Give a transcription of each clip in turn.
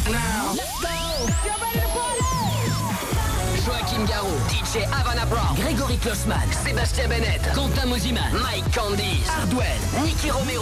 now. Let's go. You're ready to party. Joachim Garraud, DJ Havana Brown, Grégory Klossman, Sébastien Bennett, Quentin Mosiman, Mike Candice, Hardwell, Nicky Romero.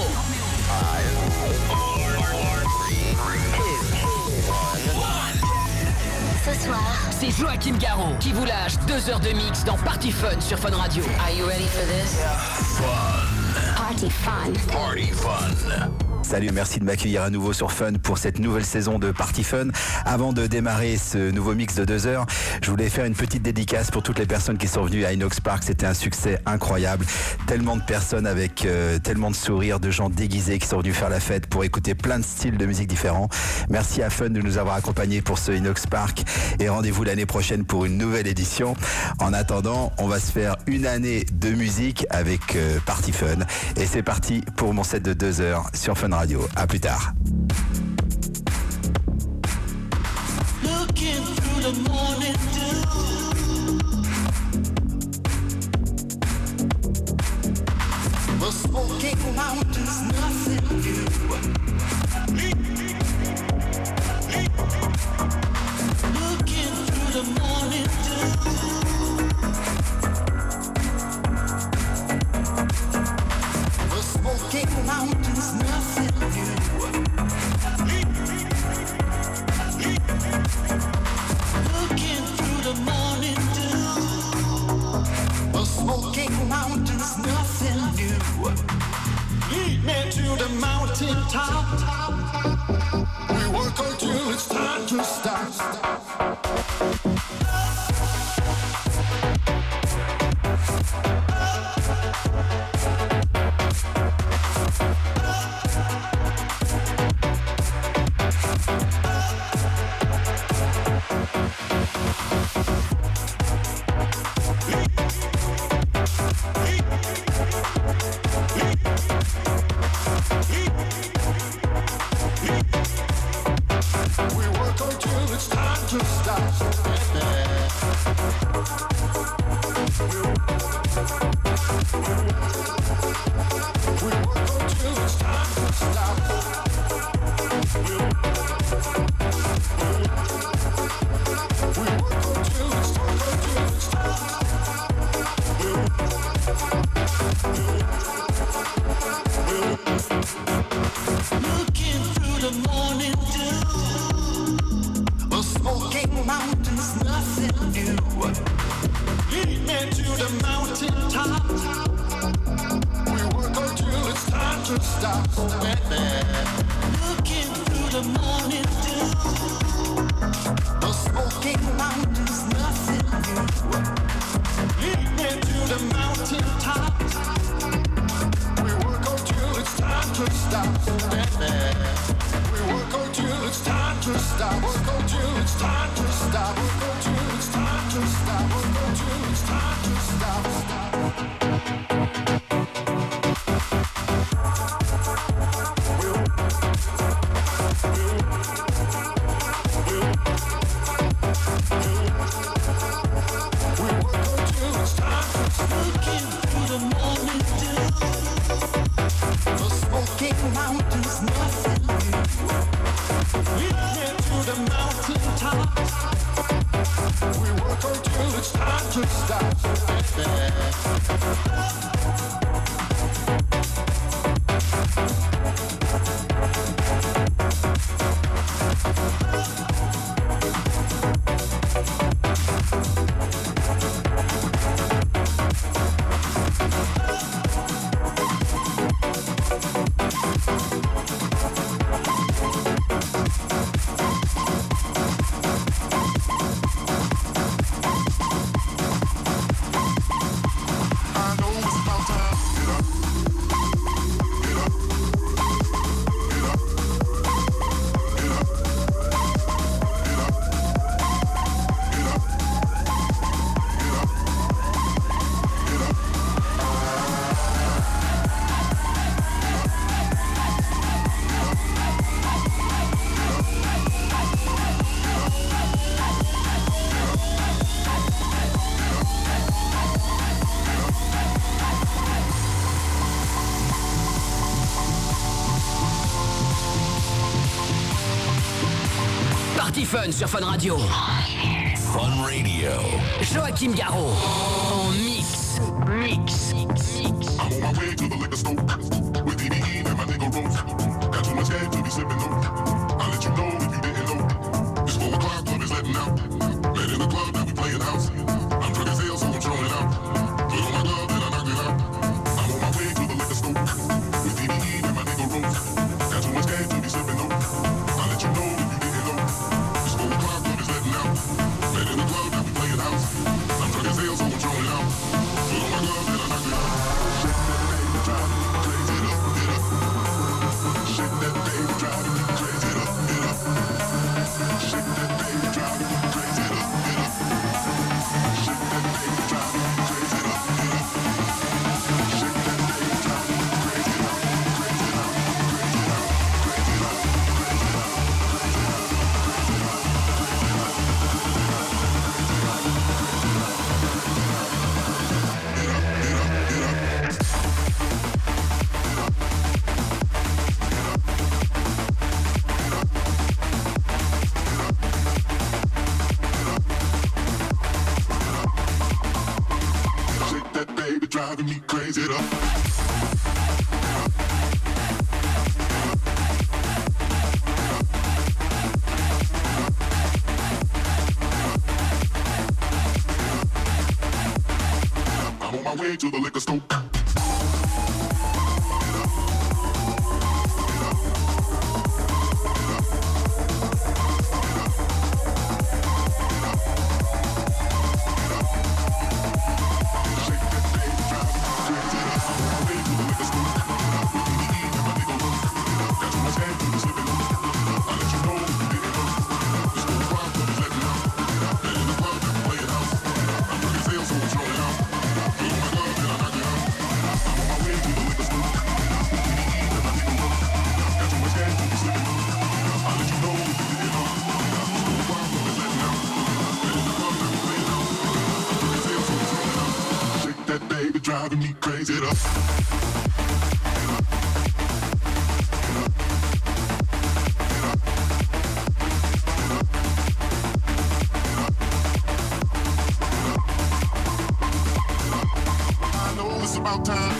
5, 4, 3, 2, 1. Ce soir, c'est Joachim Garraud qui vous lâche 2 heures de mix dans Party Fun sur Fun Radio. Are you ready for this? Yeah. Fun. Party Fun. Party Fun. Salut, merci de m'accueillir à nouveau sur Fun pour cette nouvelle saison de Party Fun. Avant de démarrer ce nouveau mix de 2 heures, je voulais faire une petite dédicace pour toutes les personnes qui sont venues à Inox Park. C'était un succès incroyable. Tellement de personnes avec tellement de sourires, de gens déguisés qui sont venus faire la fête pour écouter plein de styles de musique différents. Merci à Fun de nous avoir accompagnés pour ce Inox Park et rendez-vous l'année prochaine pour une nouvelle édition. En attendant, on va se faire une année de musique avec Party Fun. Et c'est parti pour mon set de 2 heures sur Fun Radio. À plus tard. Looking through the morning dew, the smoking mountains, nothing new. Looking through the morning dew, the smoking mountains, nothing new. Looking through the morning dew, the smoking mountains, nothing new. Lead me to the mountain top. We work until it's time to stop. I know Party Fun sur Fun Radio. Fun Radio. Joachim Garraud en mix. I'm on my way to the liquor store with DDE and my nigga Rose. Got too much head to be sipping though. I'll let you know if you didn't know. It's 4 o'clock, club is letting out. Met in the club, now we playing house. I'm drunk as hell, so I'm throwing it out. Put on my glove, then I knocked it out. I'm on my way to the liquor store with DDE and my nigga Rose. Got too much head to be sipping though. I'll let you know if you didn't know. It's 4 o'clock, club is letting out. Met in the club, now we playing house. I'm drunk as hell, so I'm throwing it out. Put on my glove, then I knocked it out. Shake that baby, drive me crazy, get up, get up. Shake that baby, drive me crazy, get up, get up. Shake that baby, drive me crazy, get up, get up. Shake that baby, drive me crazy, get up, crazy, get up, crazy, get up, crazy, get up, crazy, get up, driving me crazy up. I'm on my way to the liquor store. Driving me crazy up. I know it's about time.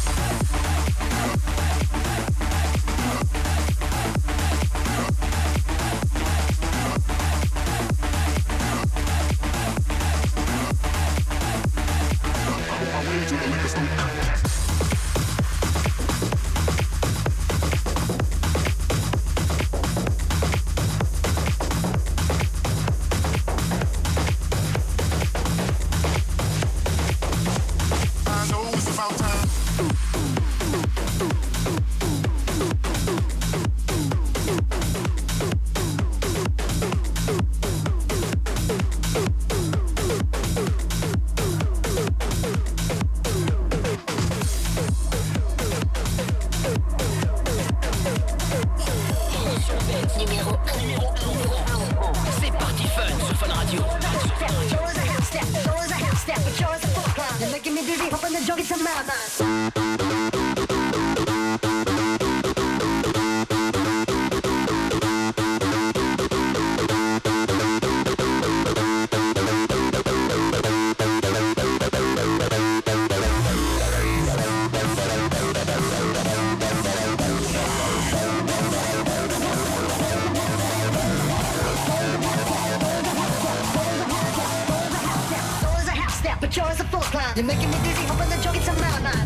You're making me dizzy, hoping the joke gets a mad.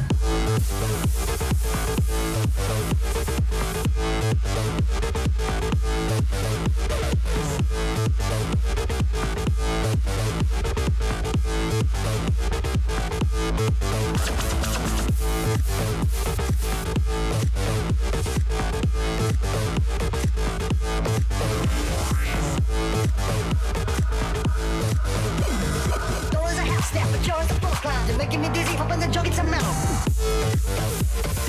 You're making me dizzy, hoping the joke gets a mouth.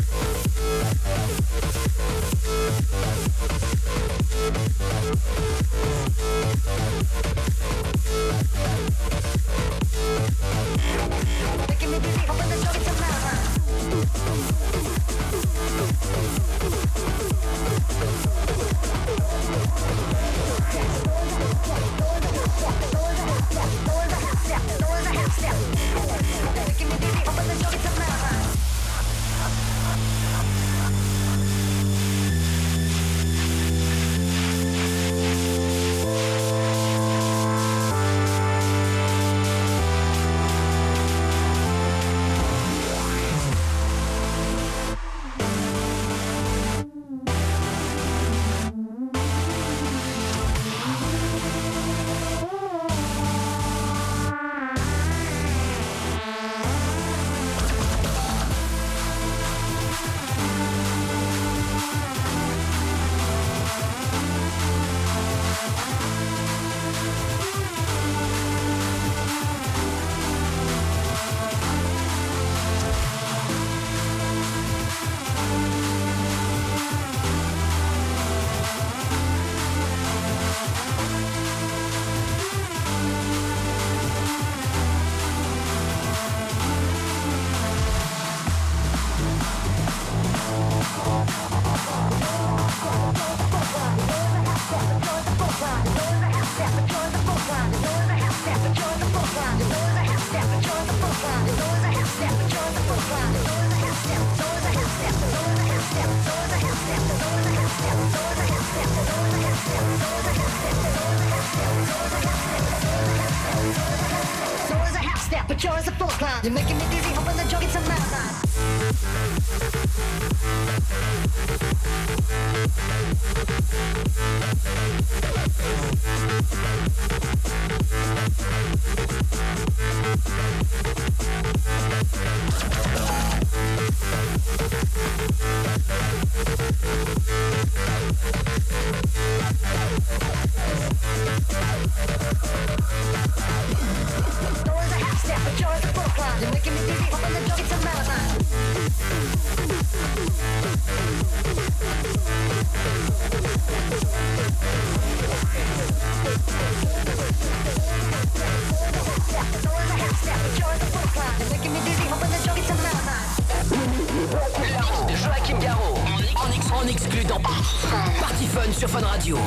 but yours a full clown. You're making me dizzy, hoping the joke gets a marathon. You're making me dizzy, hoping the joke gets a marathon. You're making me dizzy, hoping the joke gets a marathon. Le mix de Joachim Garraud en exclu dans Party Fun sur Fun Radio.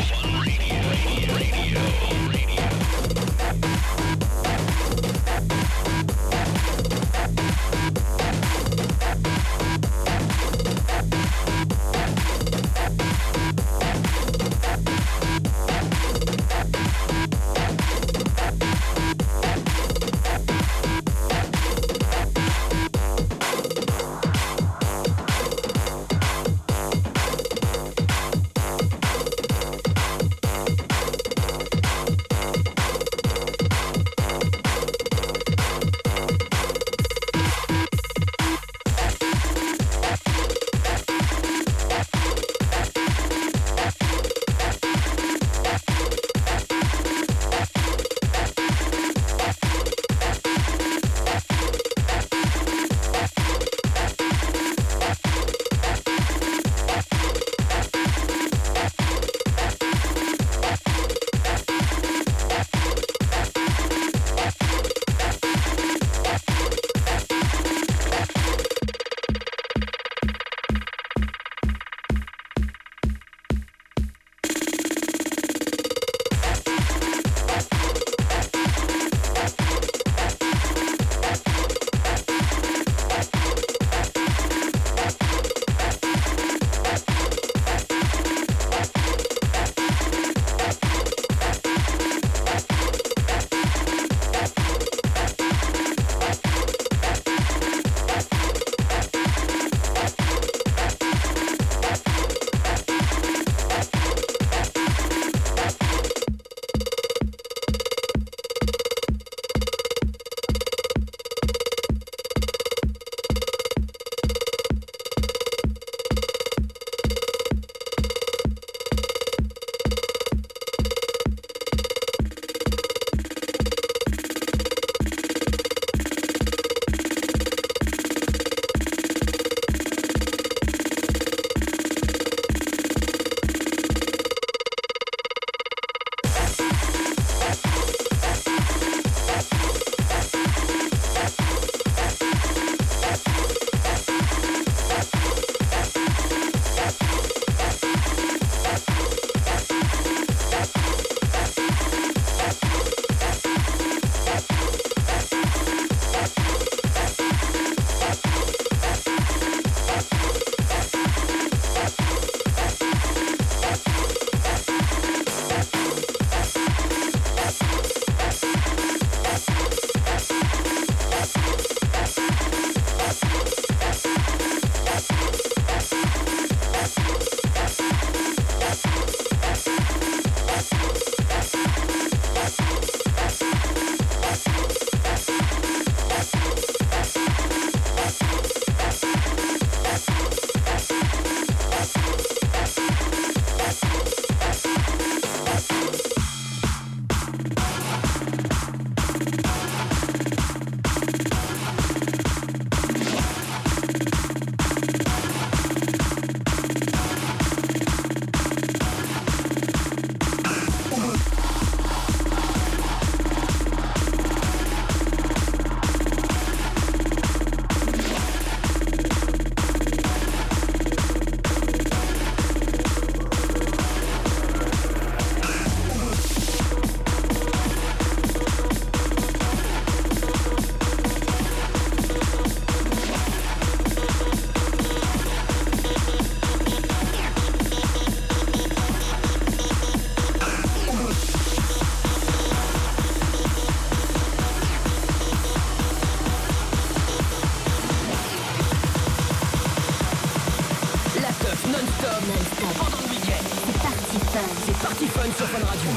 Fun Radio.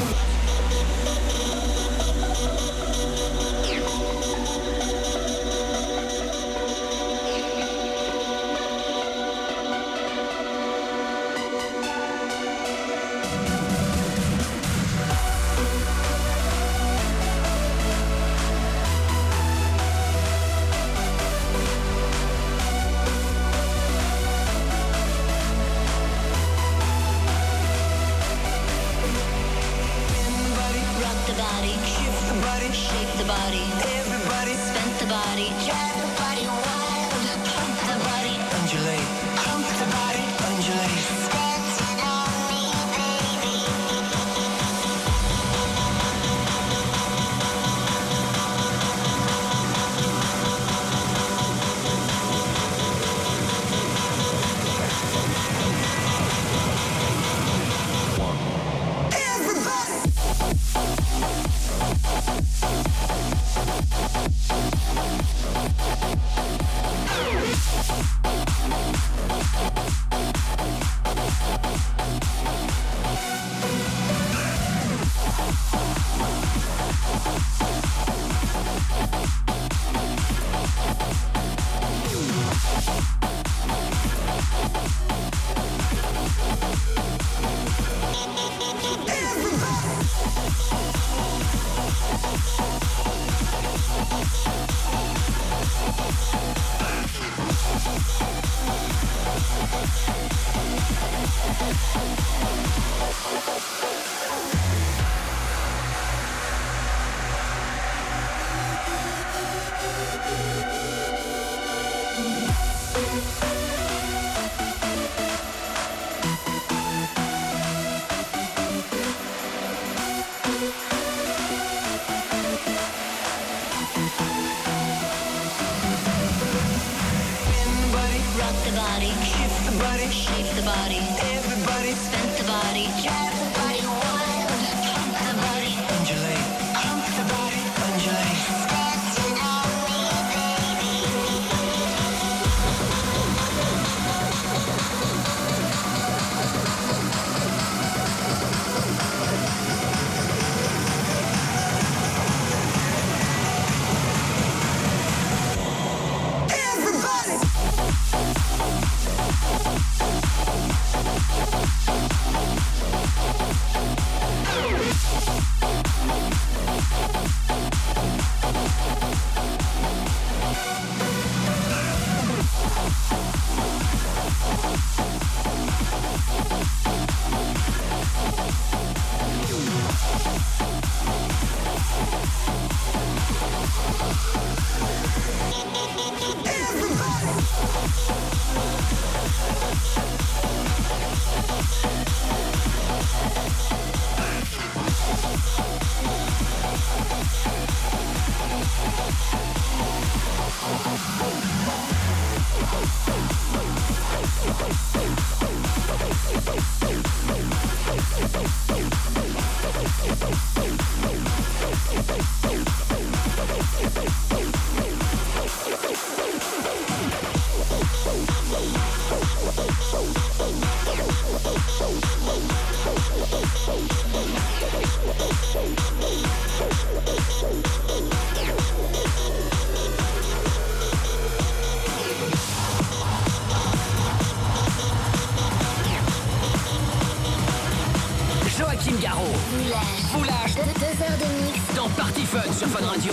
Foulage. 2 heures de mix. Dans Party Fun sur Fun Radio.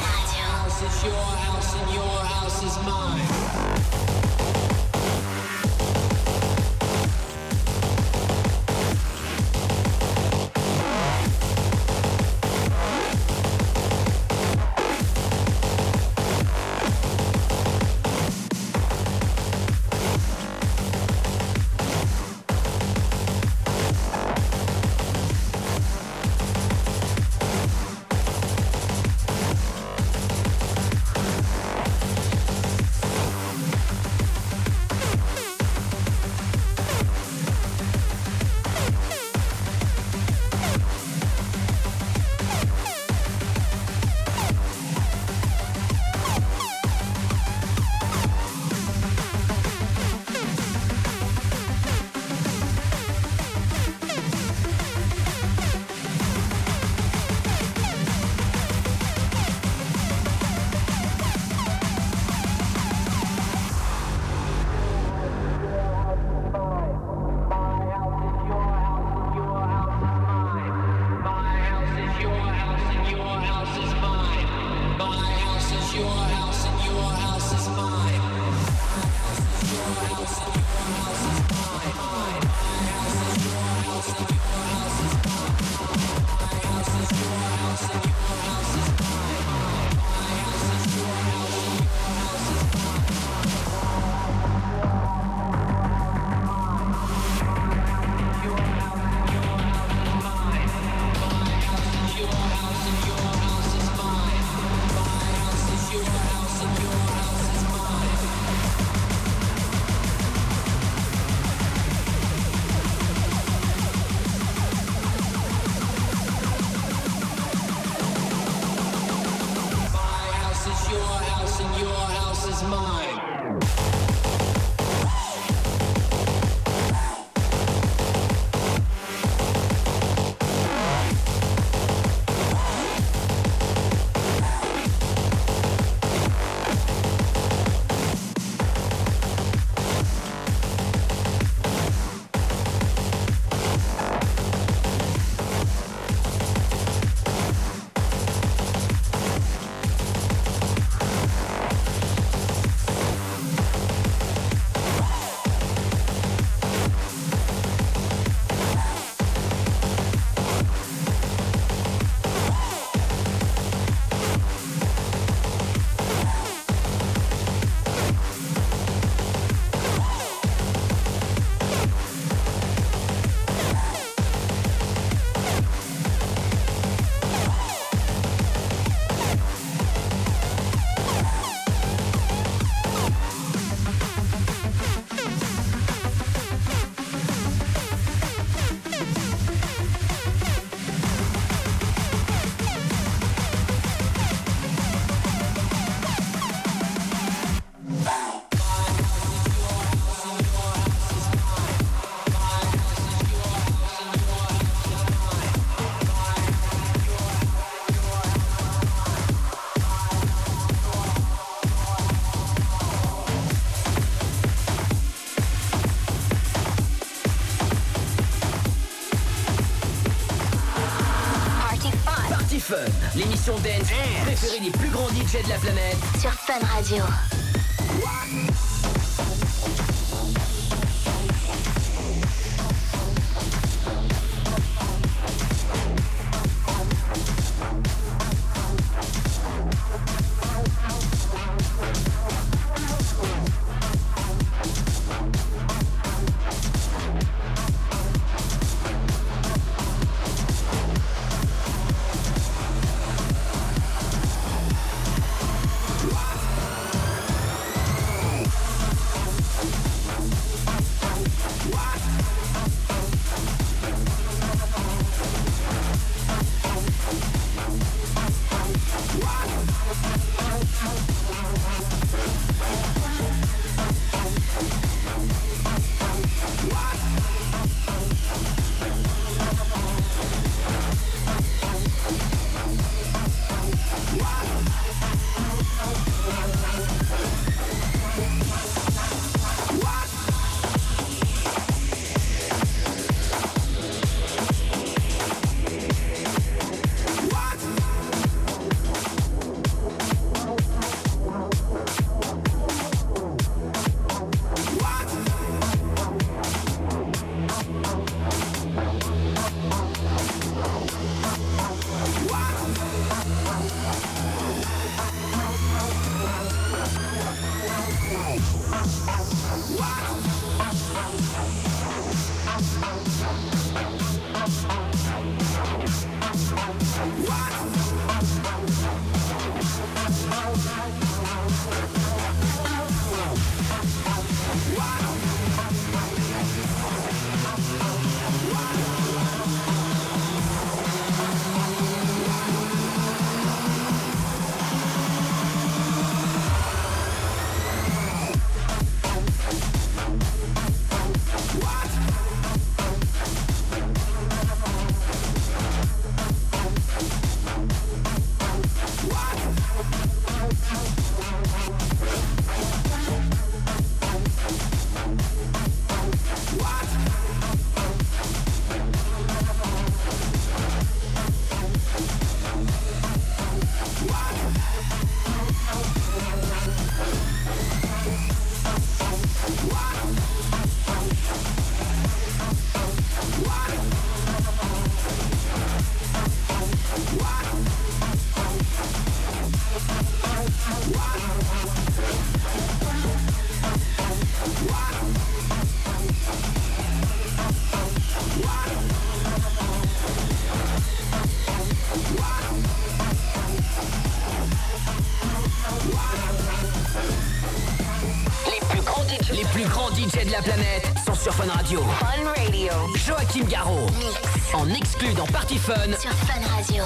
It's your house and your house is mine. mine. L'émission dance préférée des plus grands DJ de la planète sur Fun Radio. DJ de la planète sont sur Fun Radio. Fun Radio. Joachim Garraud. Mix. En exclu dans Party Fun. Sur Fun Radio.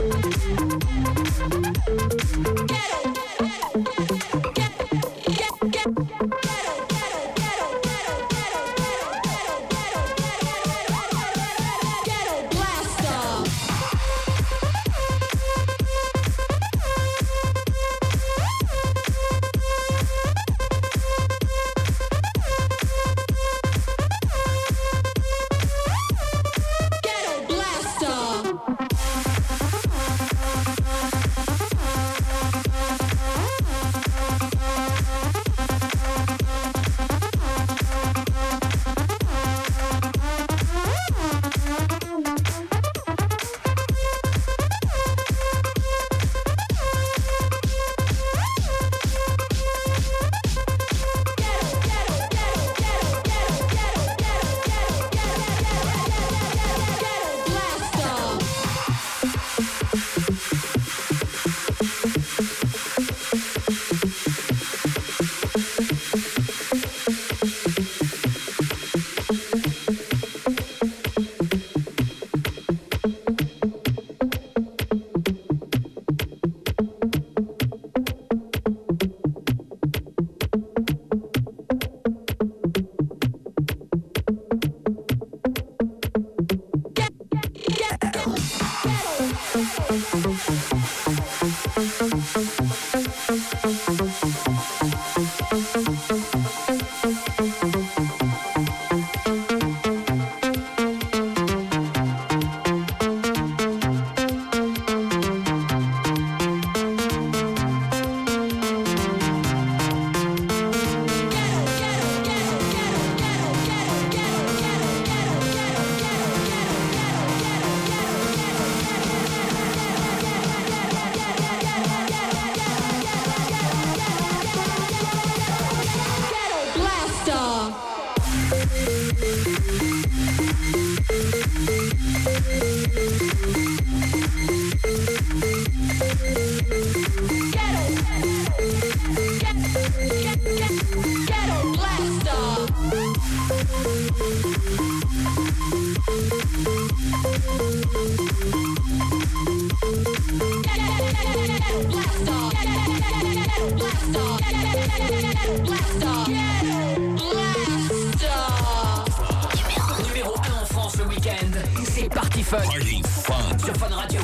Numéro 1 en France le week-end, c'est Party Fun. Party Fun. Sur Fun Radio.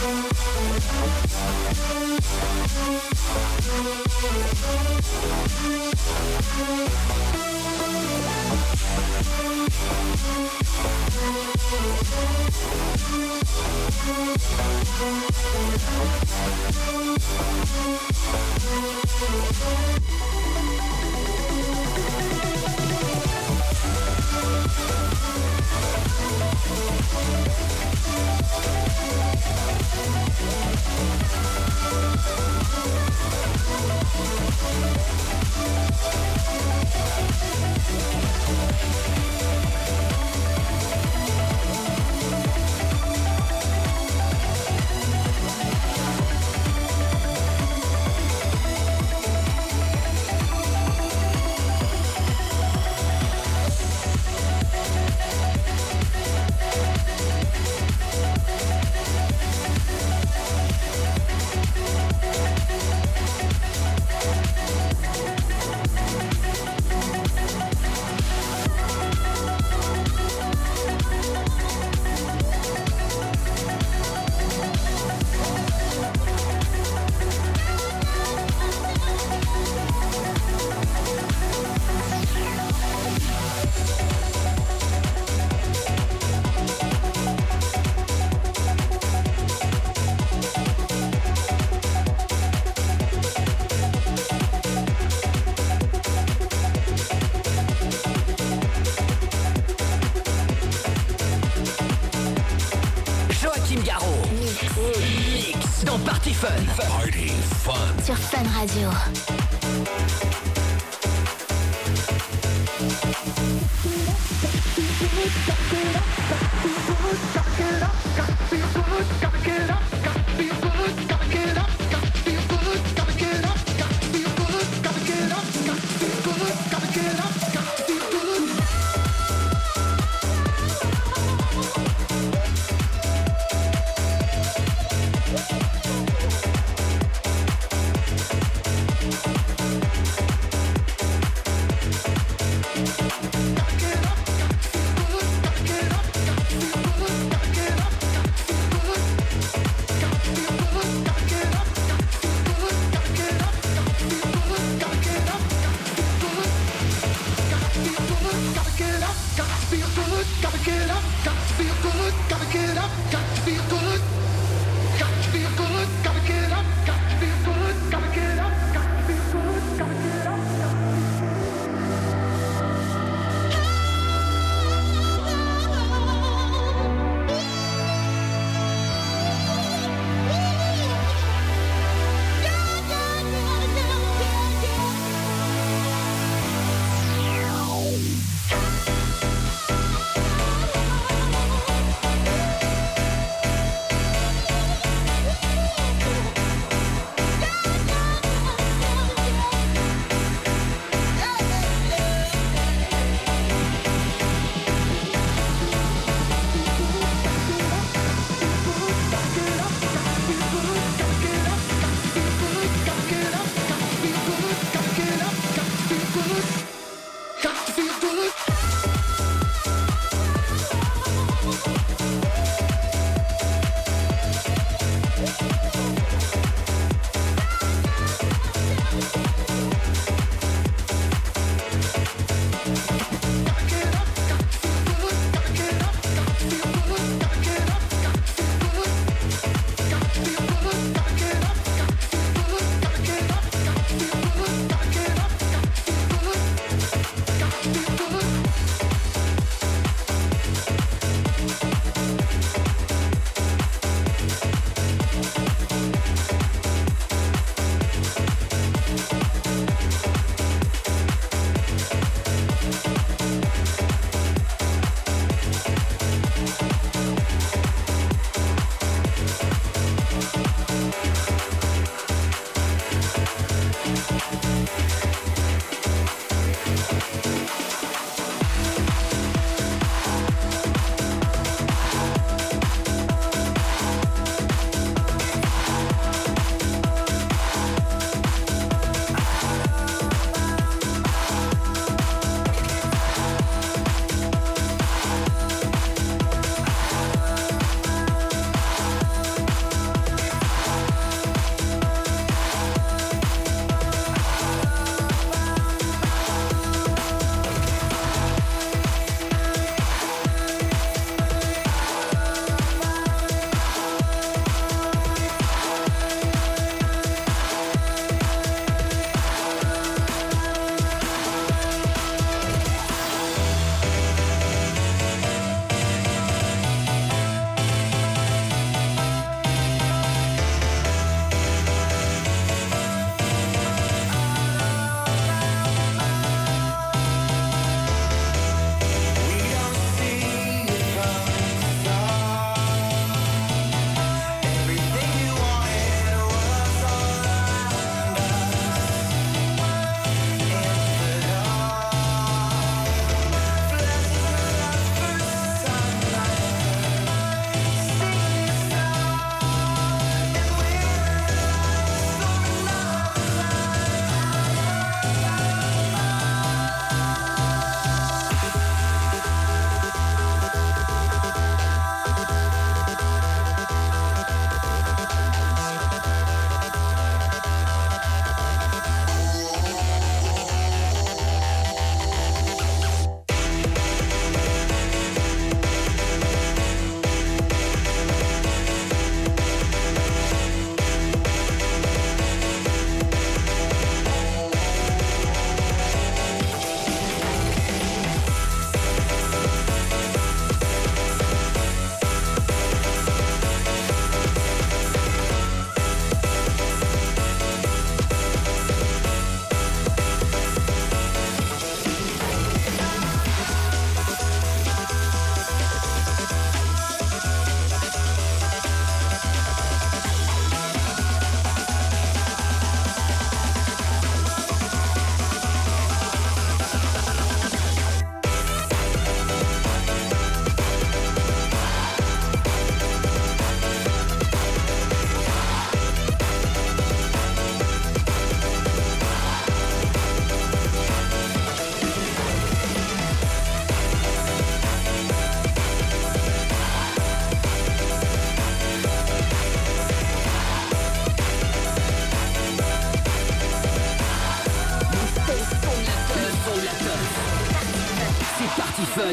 Party Fun. Sur Fun Radio.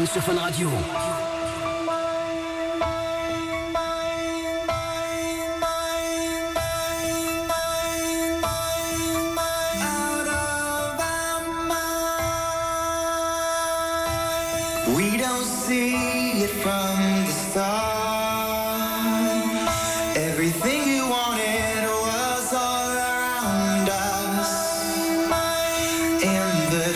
Fun sur Fun Radio. We don't see it from the start. Everything you wanted was all around us. In the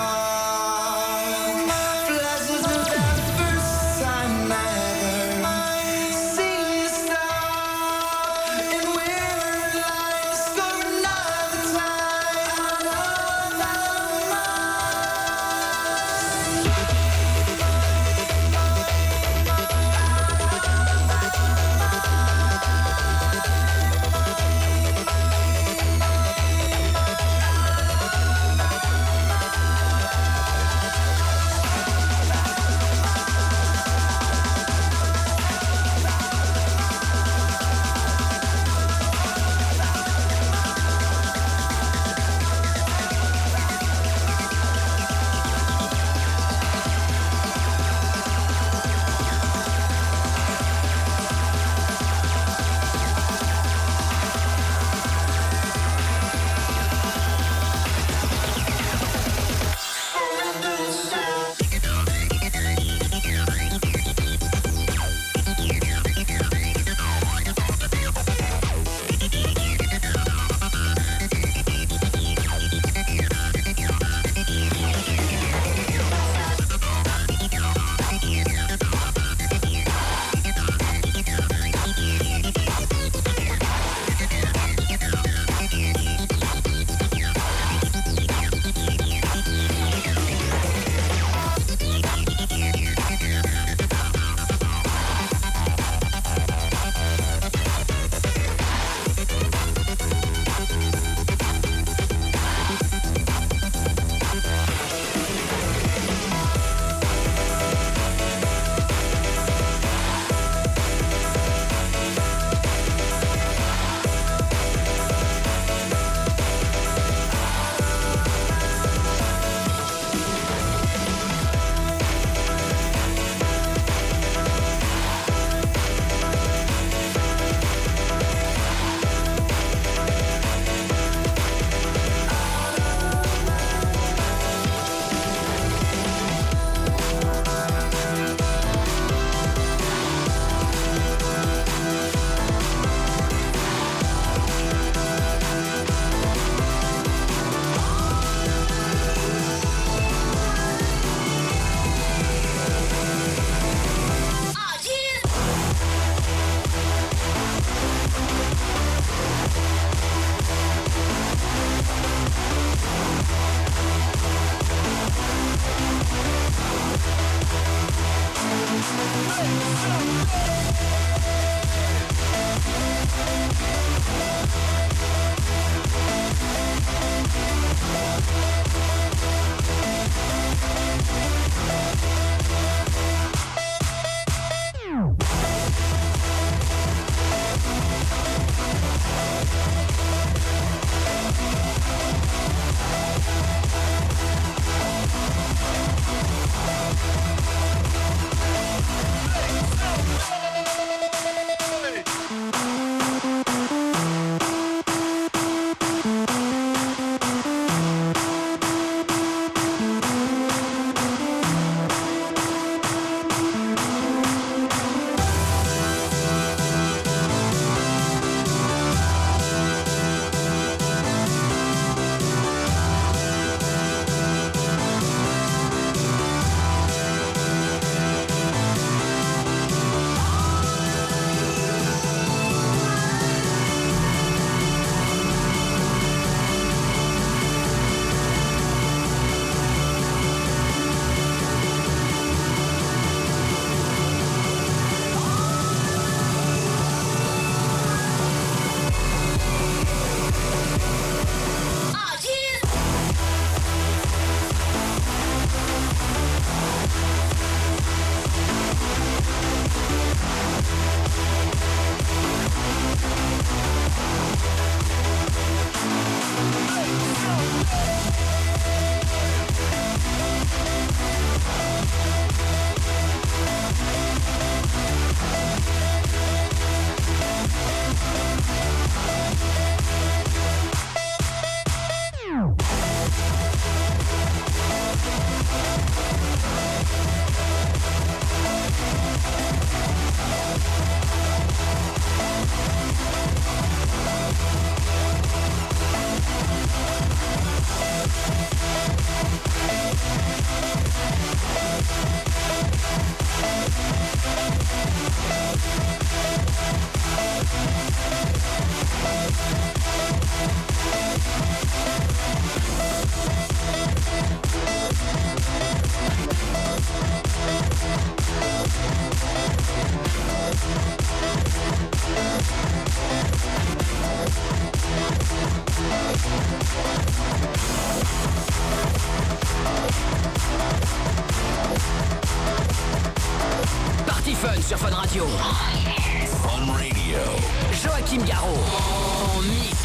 dark, flashes of that first time never seem to stop. And we're alive, score another time. Out of our minds. Radio. Fun Radio. Joachim Garraud. En mix.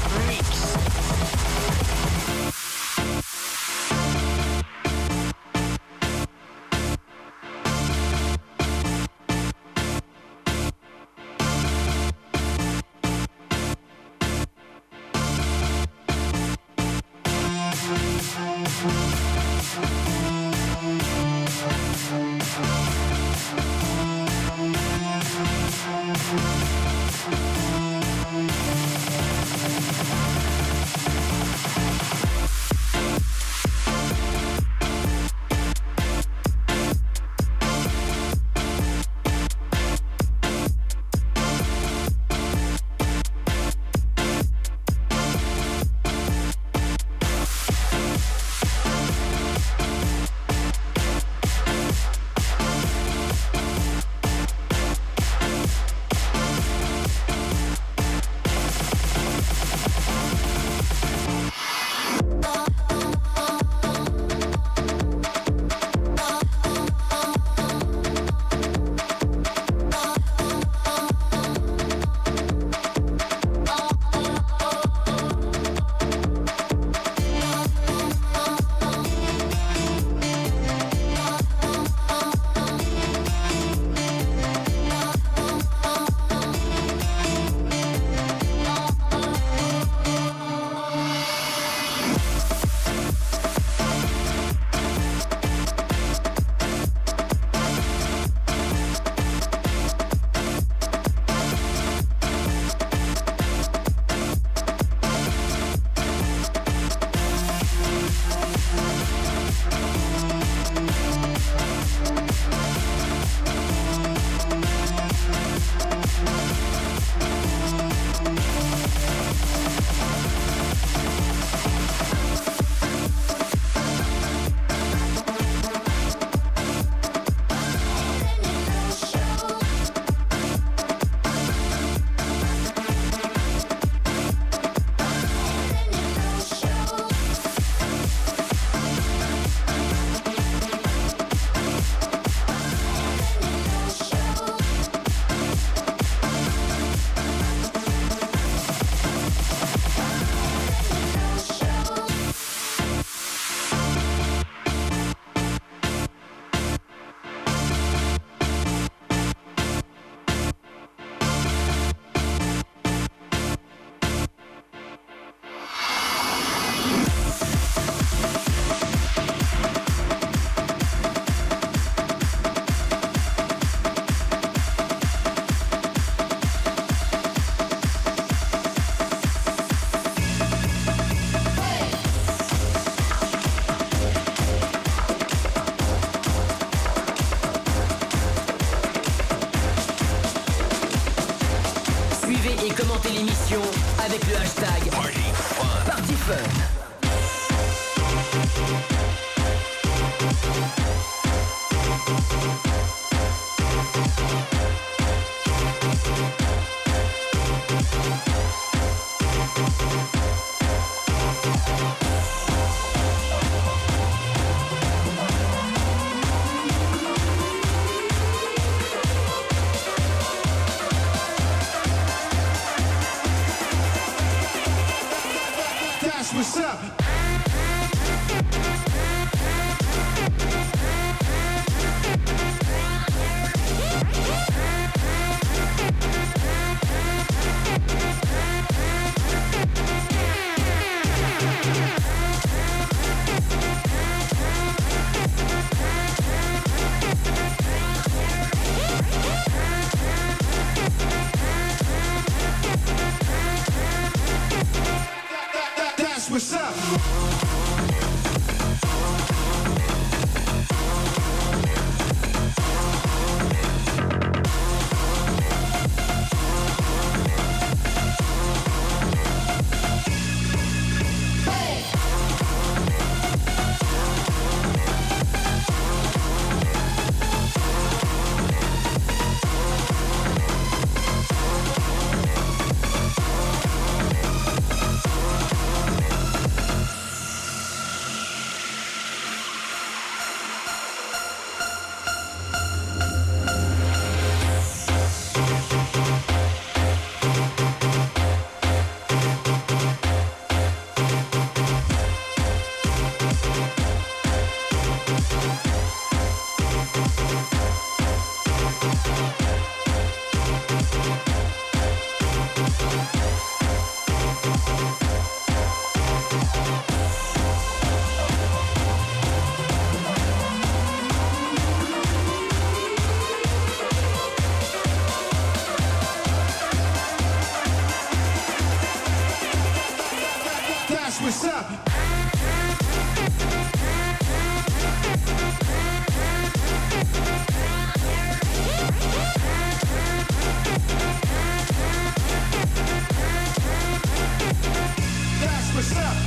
Commentez l'émission avec le hashtag PartyFun. What's up? What's up? That's what's up. That's what's up.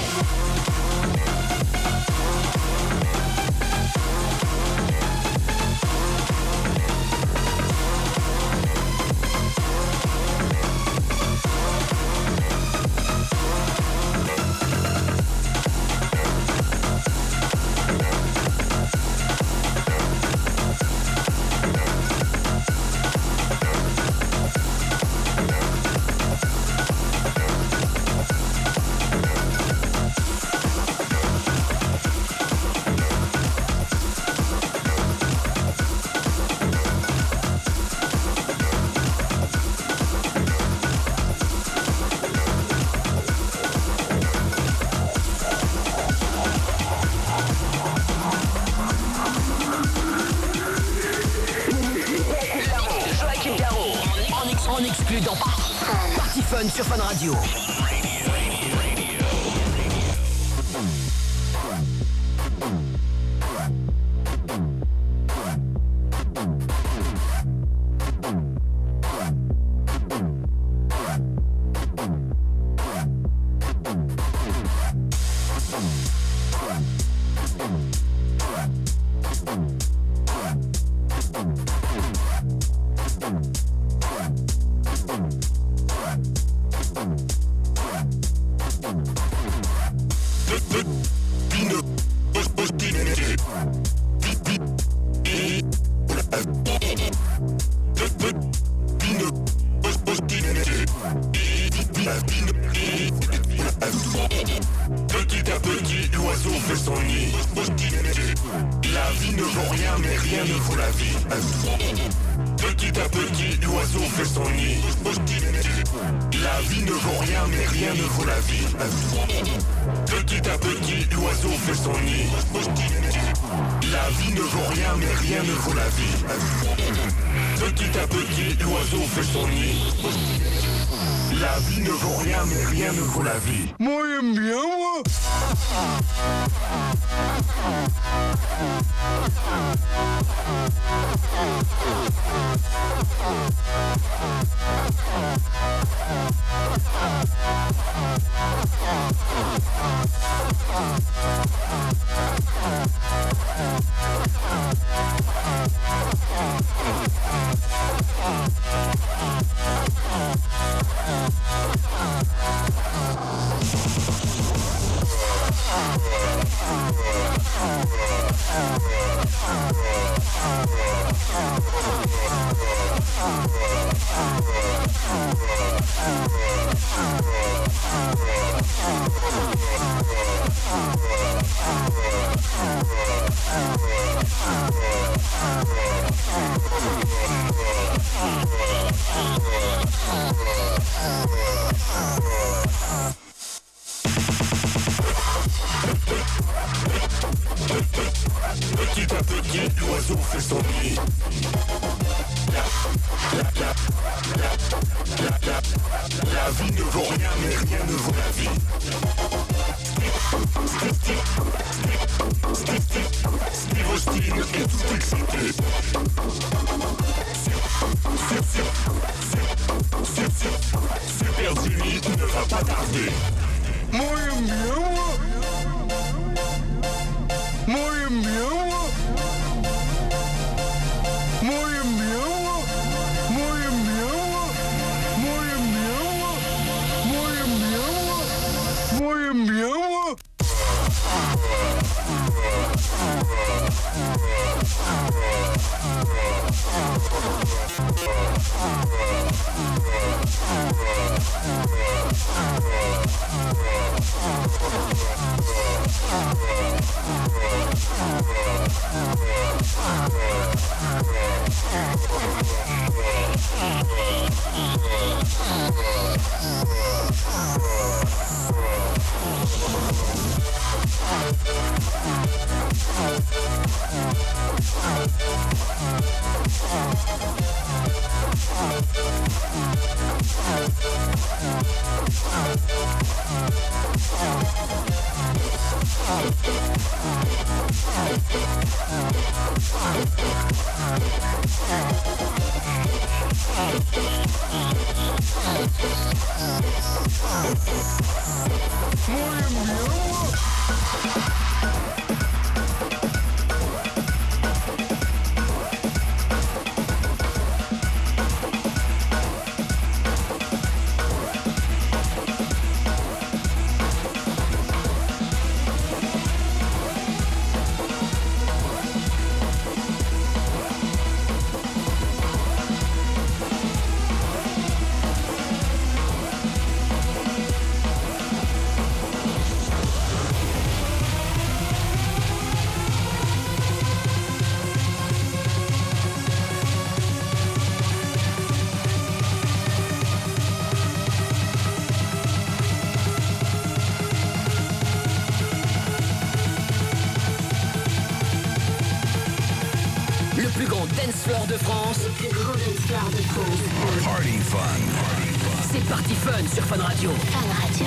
En exclu dans Party Fun sur Fun Radio. Petit à petit, l'oiseau fait son nid. La vie ne vaut rien, mais rien ne vaut la vie. Petit à petit, l'oiseau fait son nid. La vie ne vaut rien, mais rien ne vaut la vie. Petit à petit, l'oiseau fait son nid. La vie ne vaut rien, mais rien ne vaut la vie. Petit à petit, l'oiseau fait son nid. La vie ne vaut rien, mais rien ne vaut la vie. Moi, j'aime bien, moi. Petit à petit, l'oiseau fait son nid. La vie ne vaut rien, mais rien ne vaut la vie. Steve Austin est tout excité. Super Jimmy ne va pas tarder. Moi, j'aime bien, moi. Moi, j'aime bien, moi. Moi, j'aime bien, moi. Moi, j'aime bien, moi. Moi, j'aime bien, moi. Moi, j'aime bien, moi. Moi, j'aime bien, moi. Dancefloor de France. Le plus grand dancefloor de France. Party fun. C'est Party Fun sur Fun Radio. Fun Radio.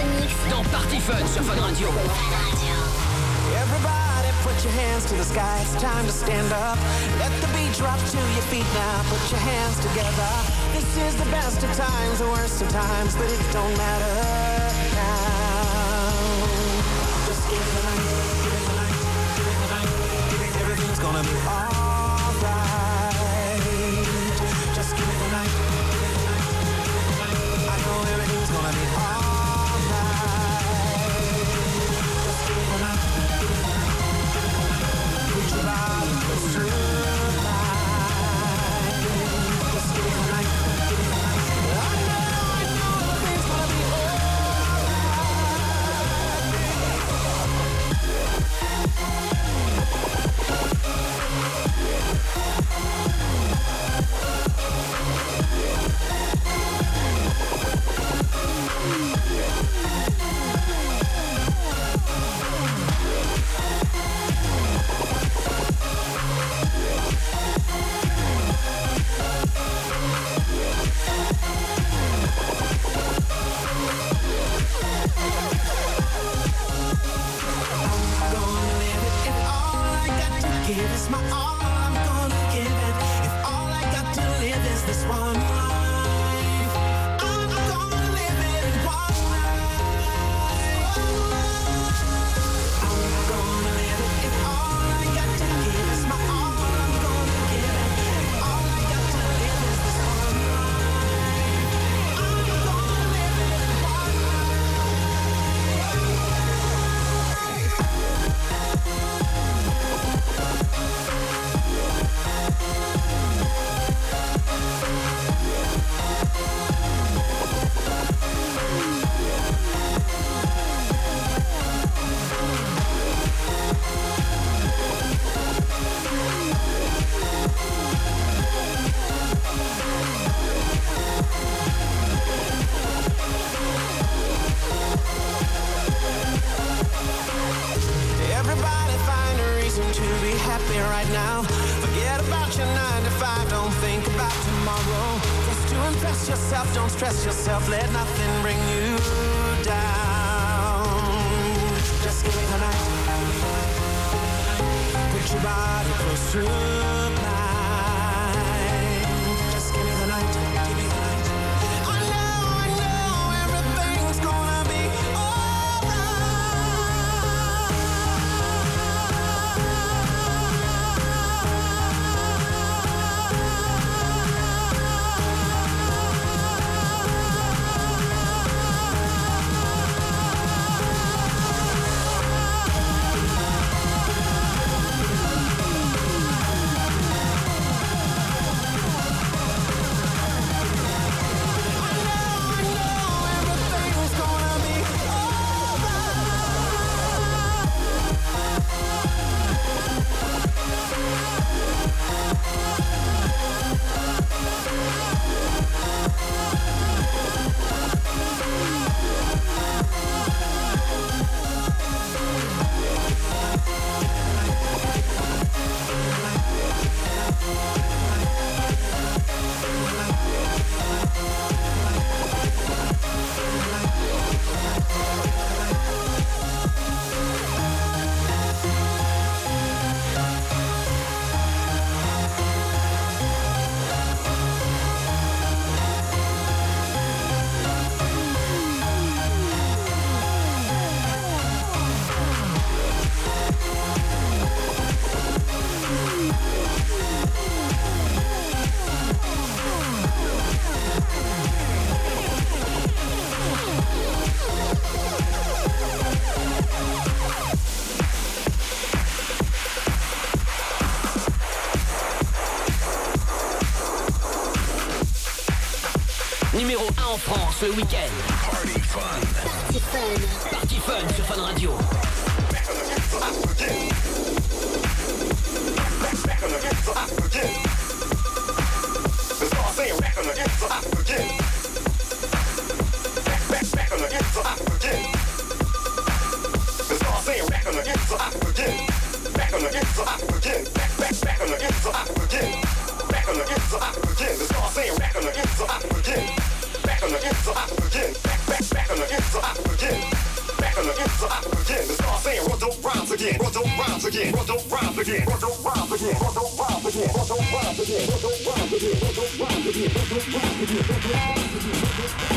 Mix dans Party Fun sur Fun Radio. Everybody put your hands to the sky, it's time to stand up. Let the beat drop to your feet now, put your hands together. This is the best of times, the worst of times, but it don't matter now. Just give it the night, give it the night, give it the night, give it, everything's gonna be alright. Just give it the night, give it the night, give it the night. I know everything's gonna be alright. Just give it the night, give it the night, give it the night. Put your body close to mine. Just give it the night, give it the night. I know everything's gonna be alright. Give is my all, I'm gonna give it. If all I got to live is this one life, I'm gonna live it in one life. I'm gonna live it. If all I got to give is my all, I'm gonna give it. If all I got to live is this one life, I'm gonna live it in one Everybody find a reason to be happy right now. Forget about your 9 to 5, don't think about tomorrow. Just to impress yourself, don't stress yourself, let nothing bring you down. Just give me the night. Put your body close to mine. Just give me the night, give me the night. I know everything's gonna be Numéro 1 en France le week-end. Party Fun. Party Fun. Party Fun sur Fun Radio. Back on again. again. Roto rhymes again. Roto rhymes again. Roto rhymes again. Roto rhymes again. Roto rhymes again. Roto rhymes again. Roto rhymes again. Roto rhymes again.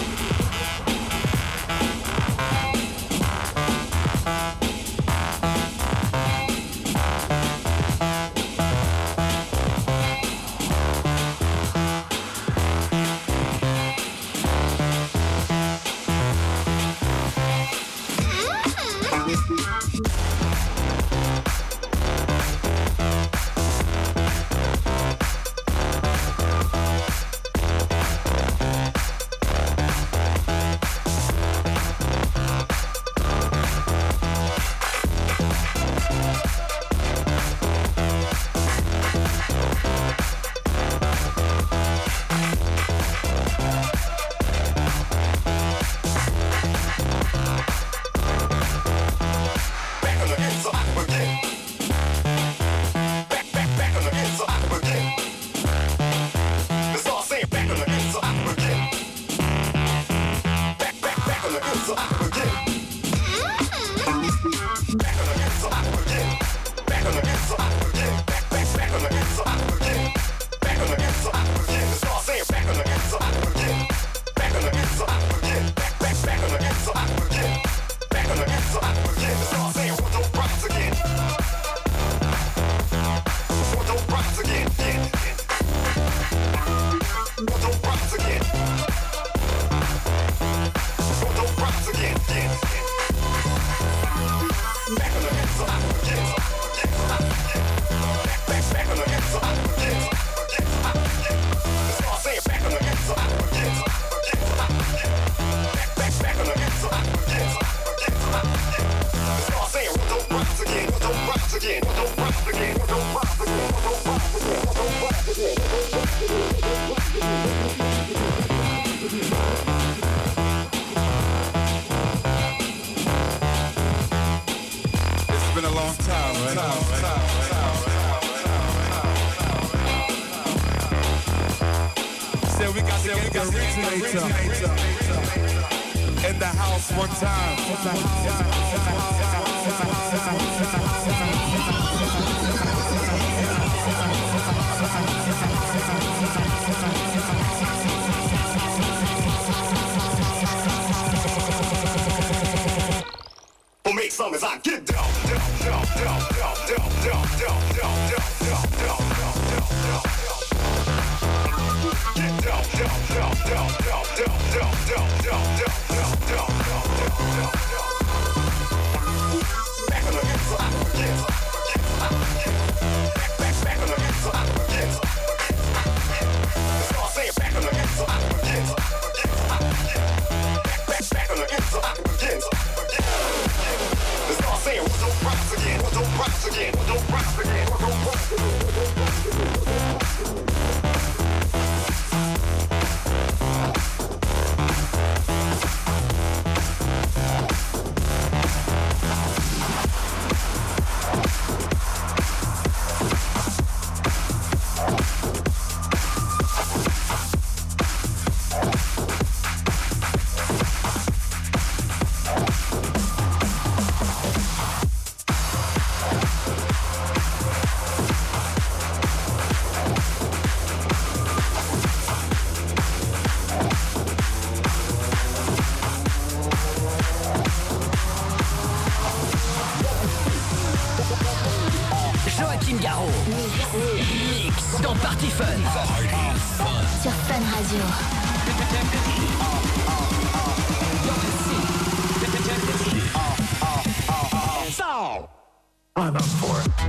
In the house one time. We'll make some as I get down, down, down, down, down, down, down, down, down, down, down, down, get down, down, down, down, down, down, down, down, down, down, down, down, back on again, so I forget. Back on again, so I forget. Let's all say it, back on again, so I forget. Back on again, so I forget. Let's all say it, what don't rise again, what don't rise again, what don't rise again, what don't rise again. Joachim Garraud. Mix dans Party Fun. Sur Fun Radio. I'm up for it.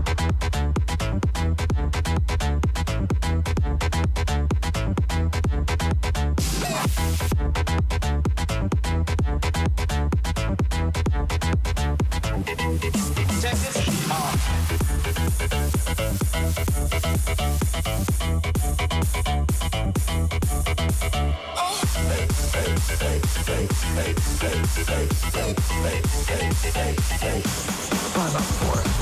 I'm up for it.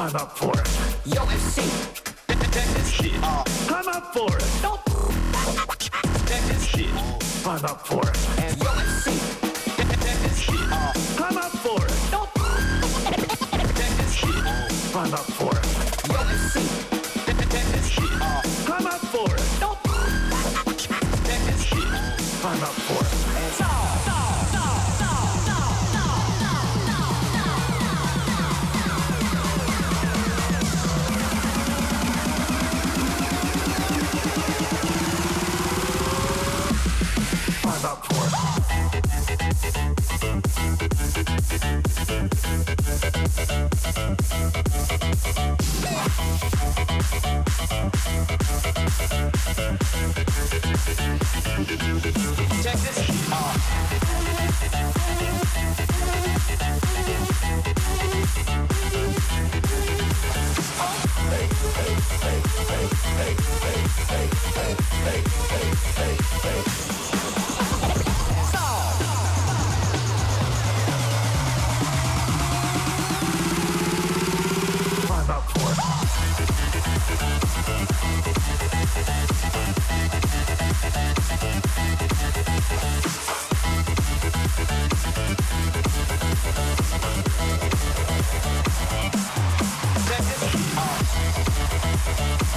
I'm up for it. Yo, MC. Check this shit. I'm up for it. Nope. Check this shit. I'm up for it. Yo, MC. Check this shit. I'm up for it. Nope. Check this shit. I'm up for it. Yo, MC. Check this shit. I'm up for it. Nope. Check this shit. I'm up for it. I'm up for it. Check this shit off. I'm up for it. Check this shit off.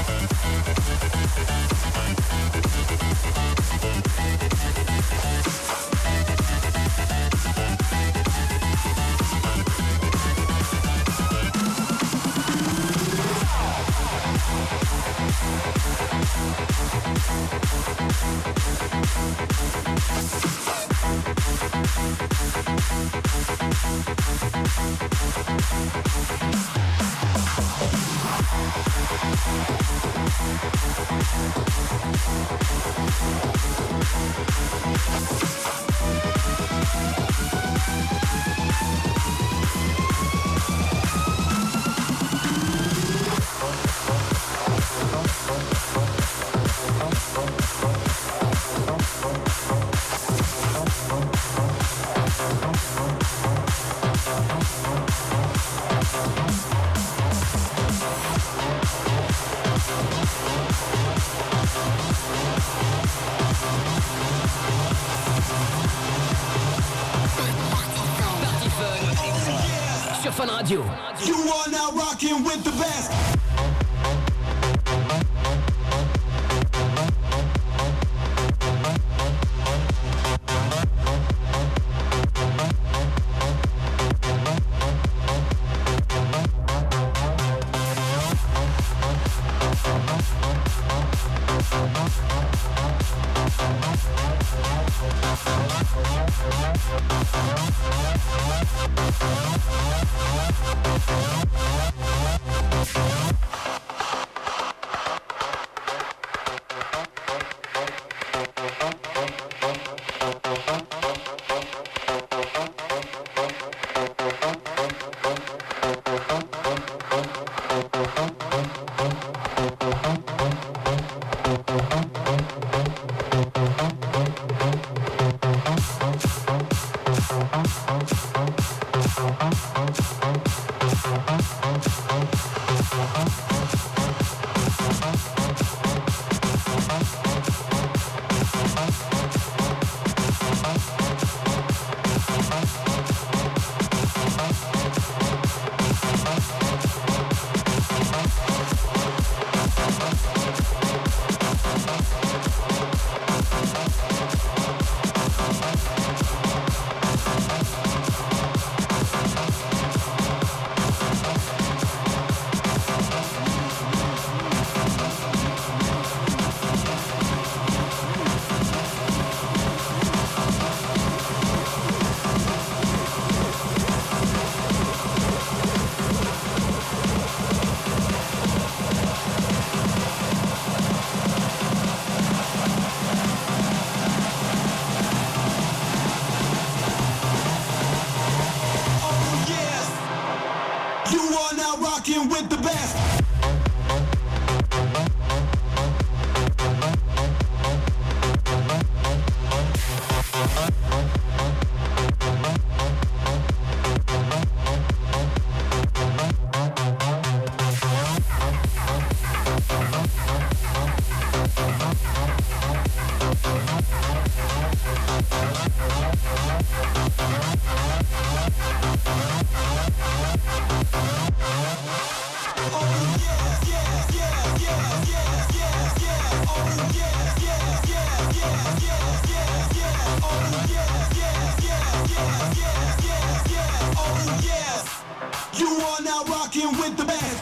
Party Fun sur Fun Radio. You are now rocking with the best. You are now rocking with the best.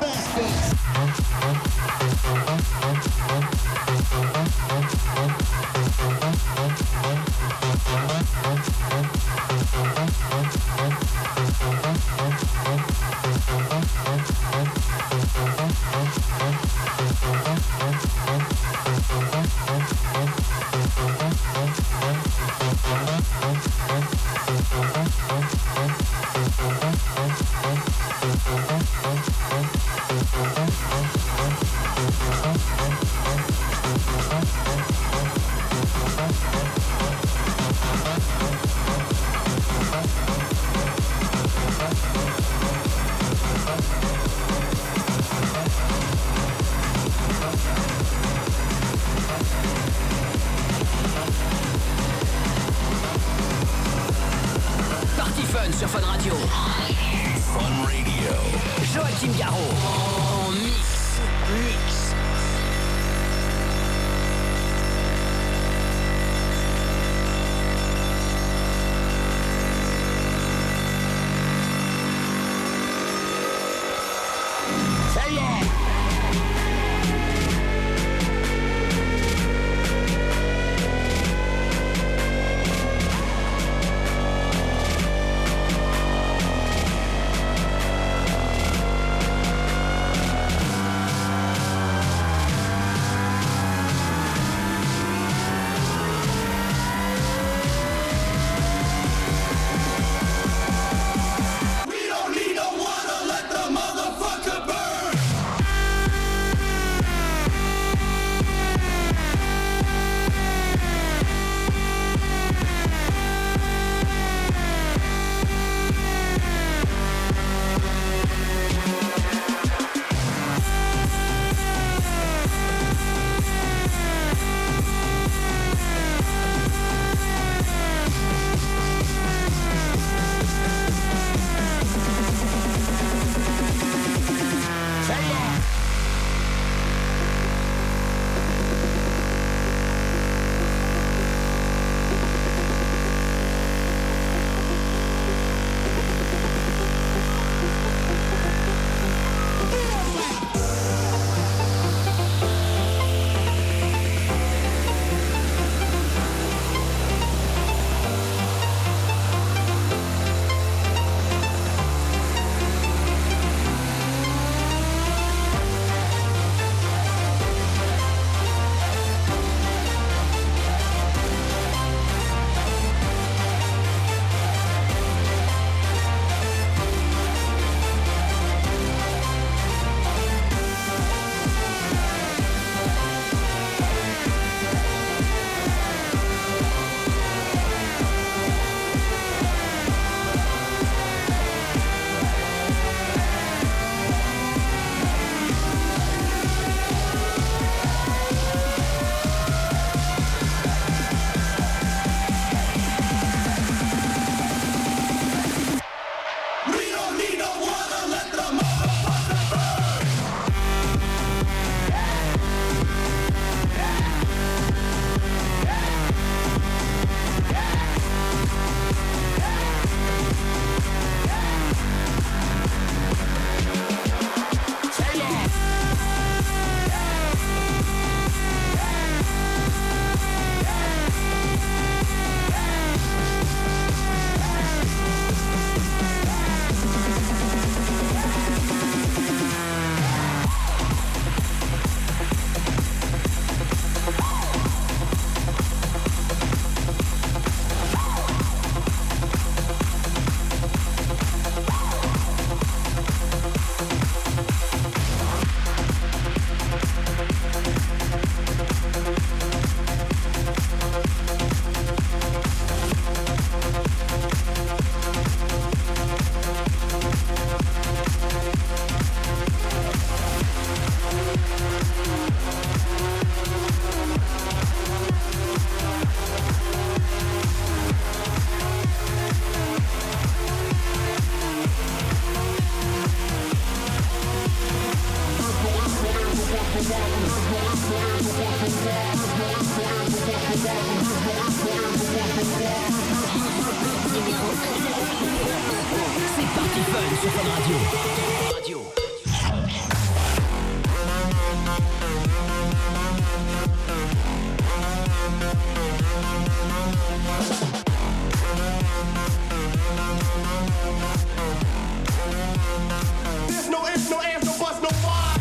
Sur Fun Radio. Fun Radio. Joachim Garraud. En mix. Ça y est. numéro 1. C'est Party Fun sur Fun Radio. There's no ifs, no ands, no buts, no why.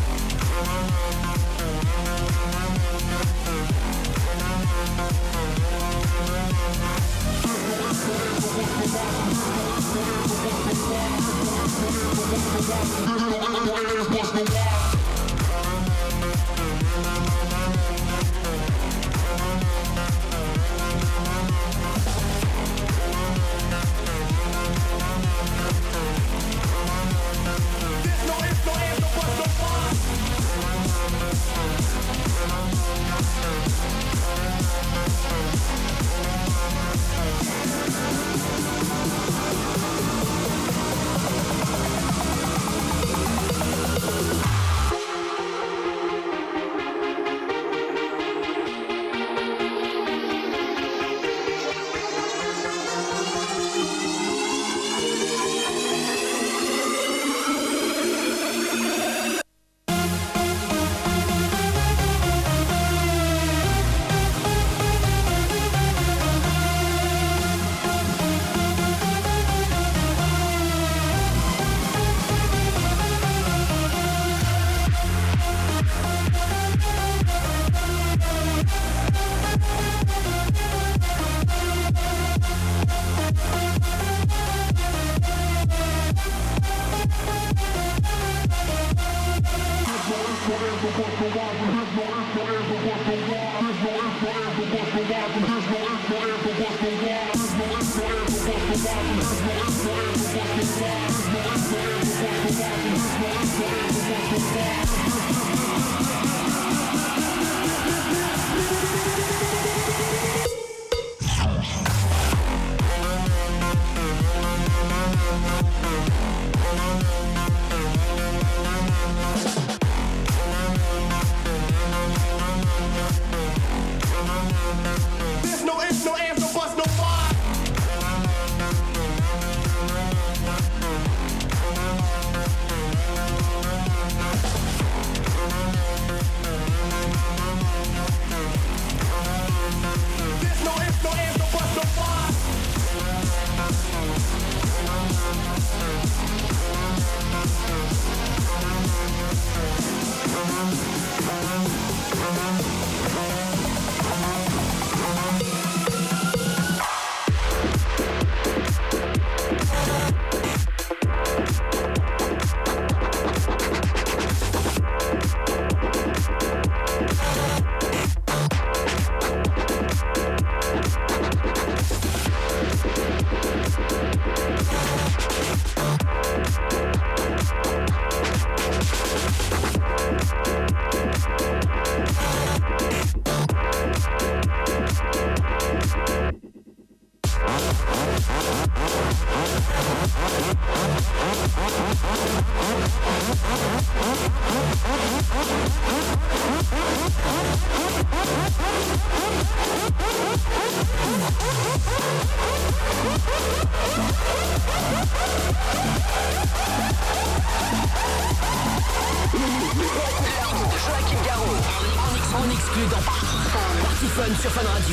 En exclu dans Party Fun sur Fun Radio.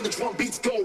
when the drum beats go.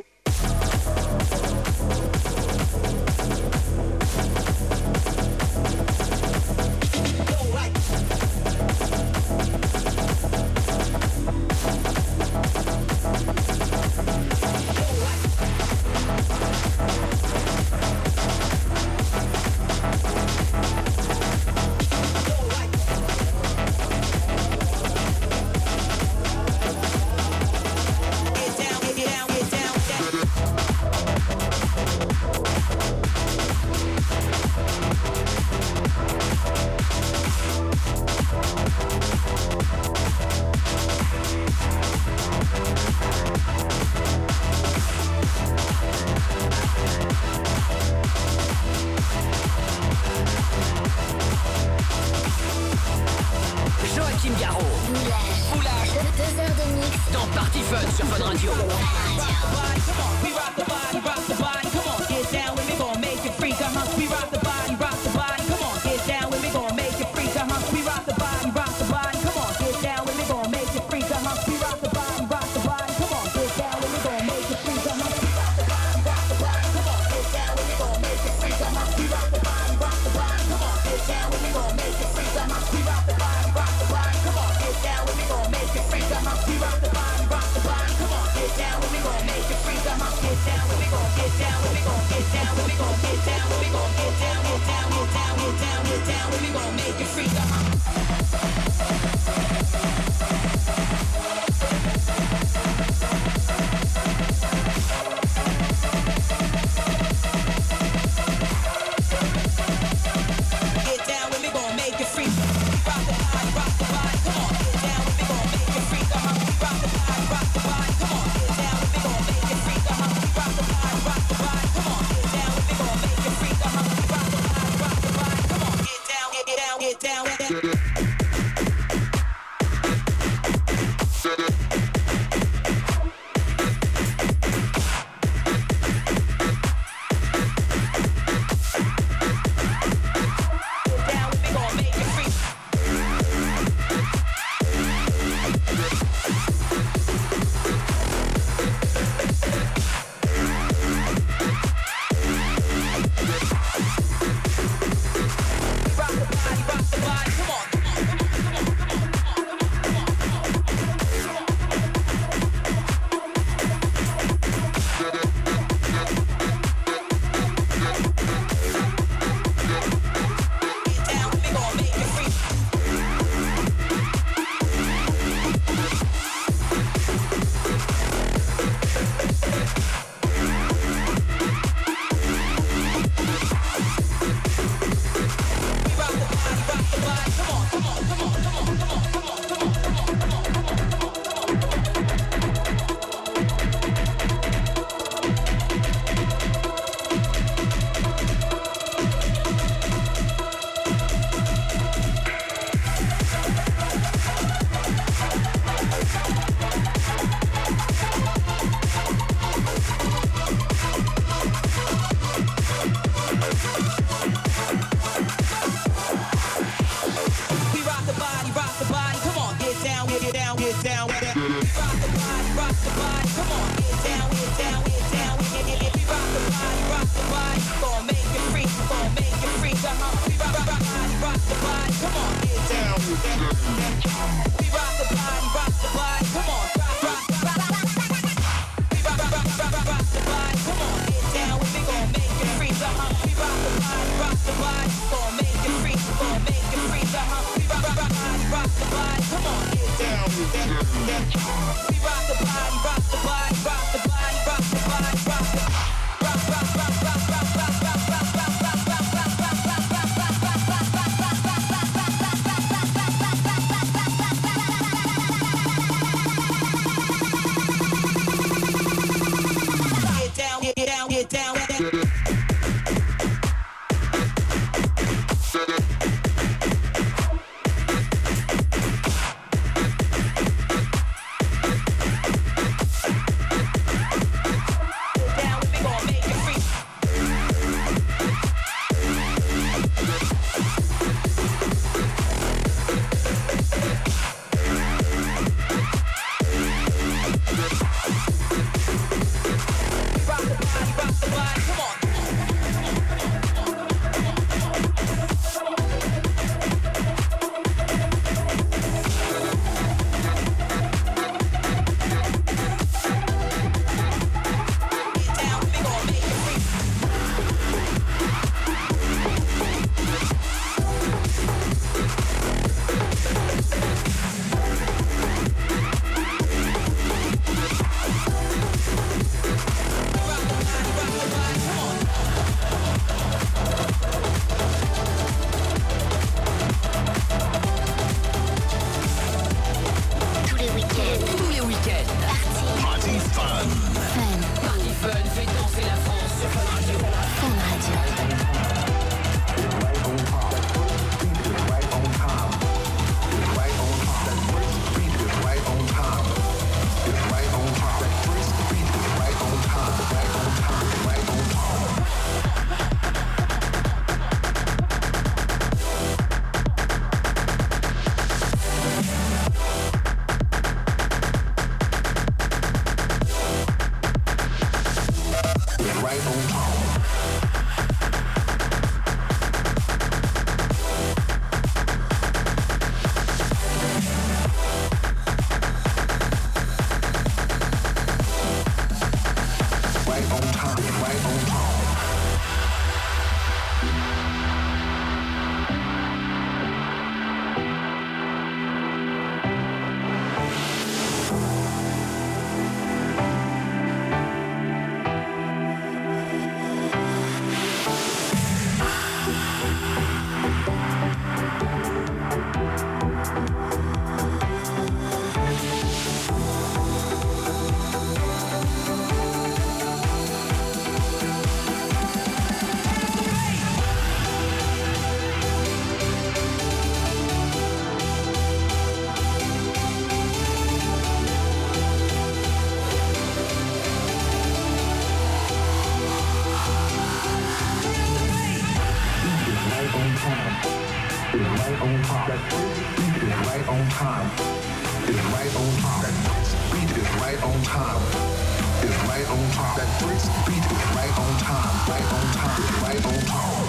That beat is right on time. It's right on time. That beat is right on time. It's right on time. That beat is right on time. Right on time. It's right on time.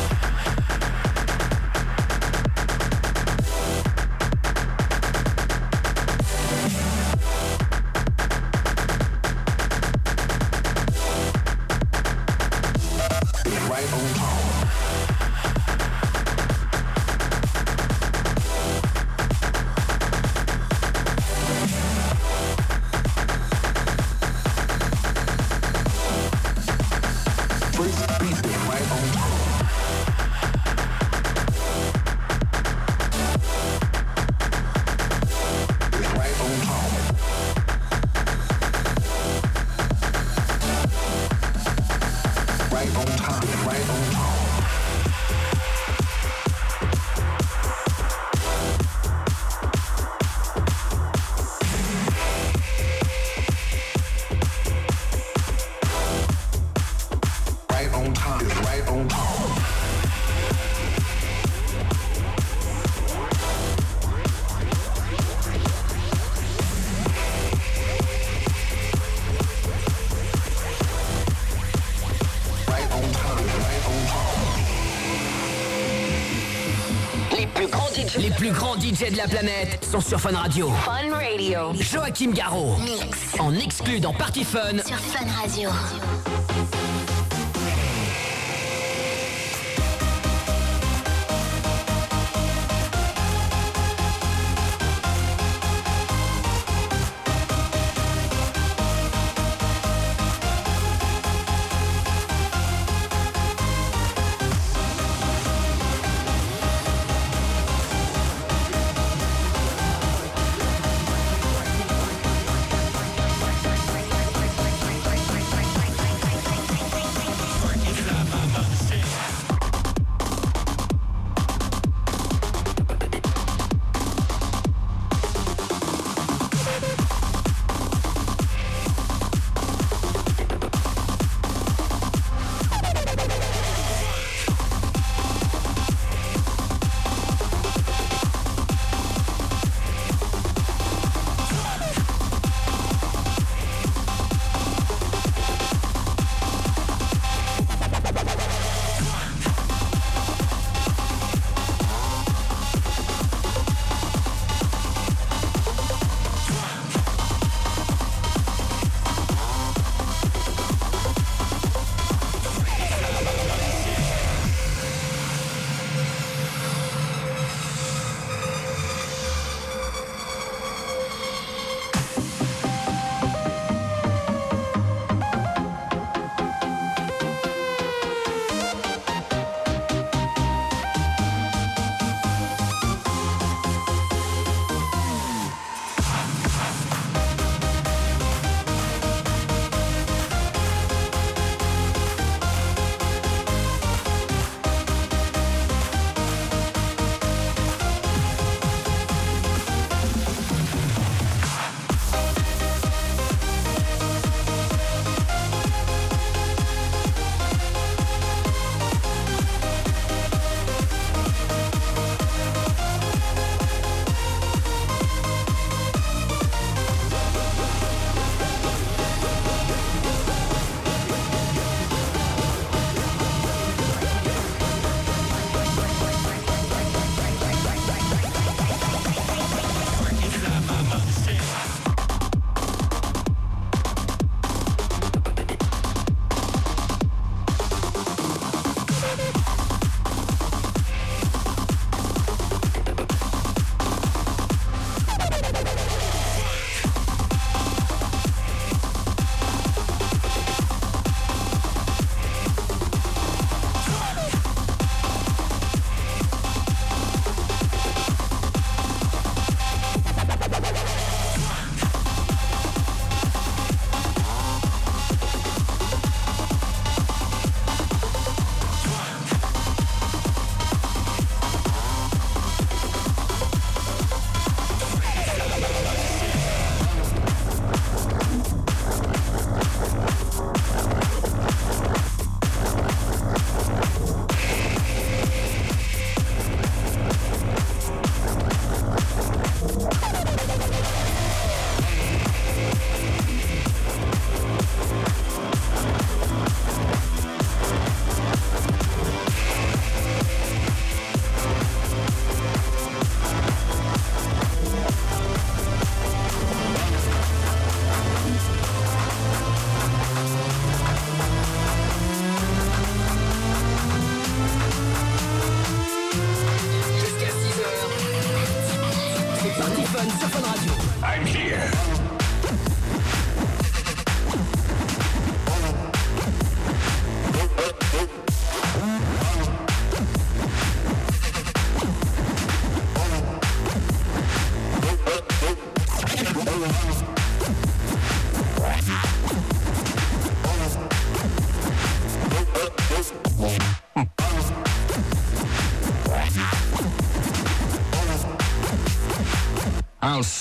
Les plus grands DJ de la planète sont sur Fun Radio. Fun Radio. Joachim Garraud. Mix. En exclu dans Party Fun. Sur Fun Radio.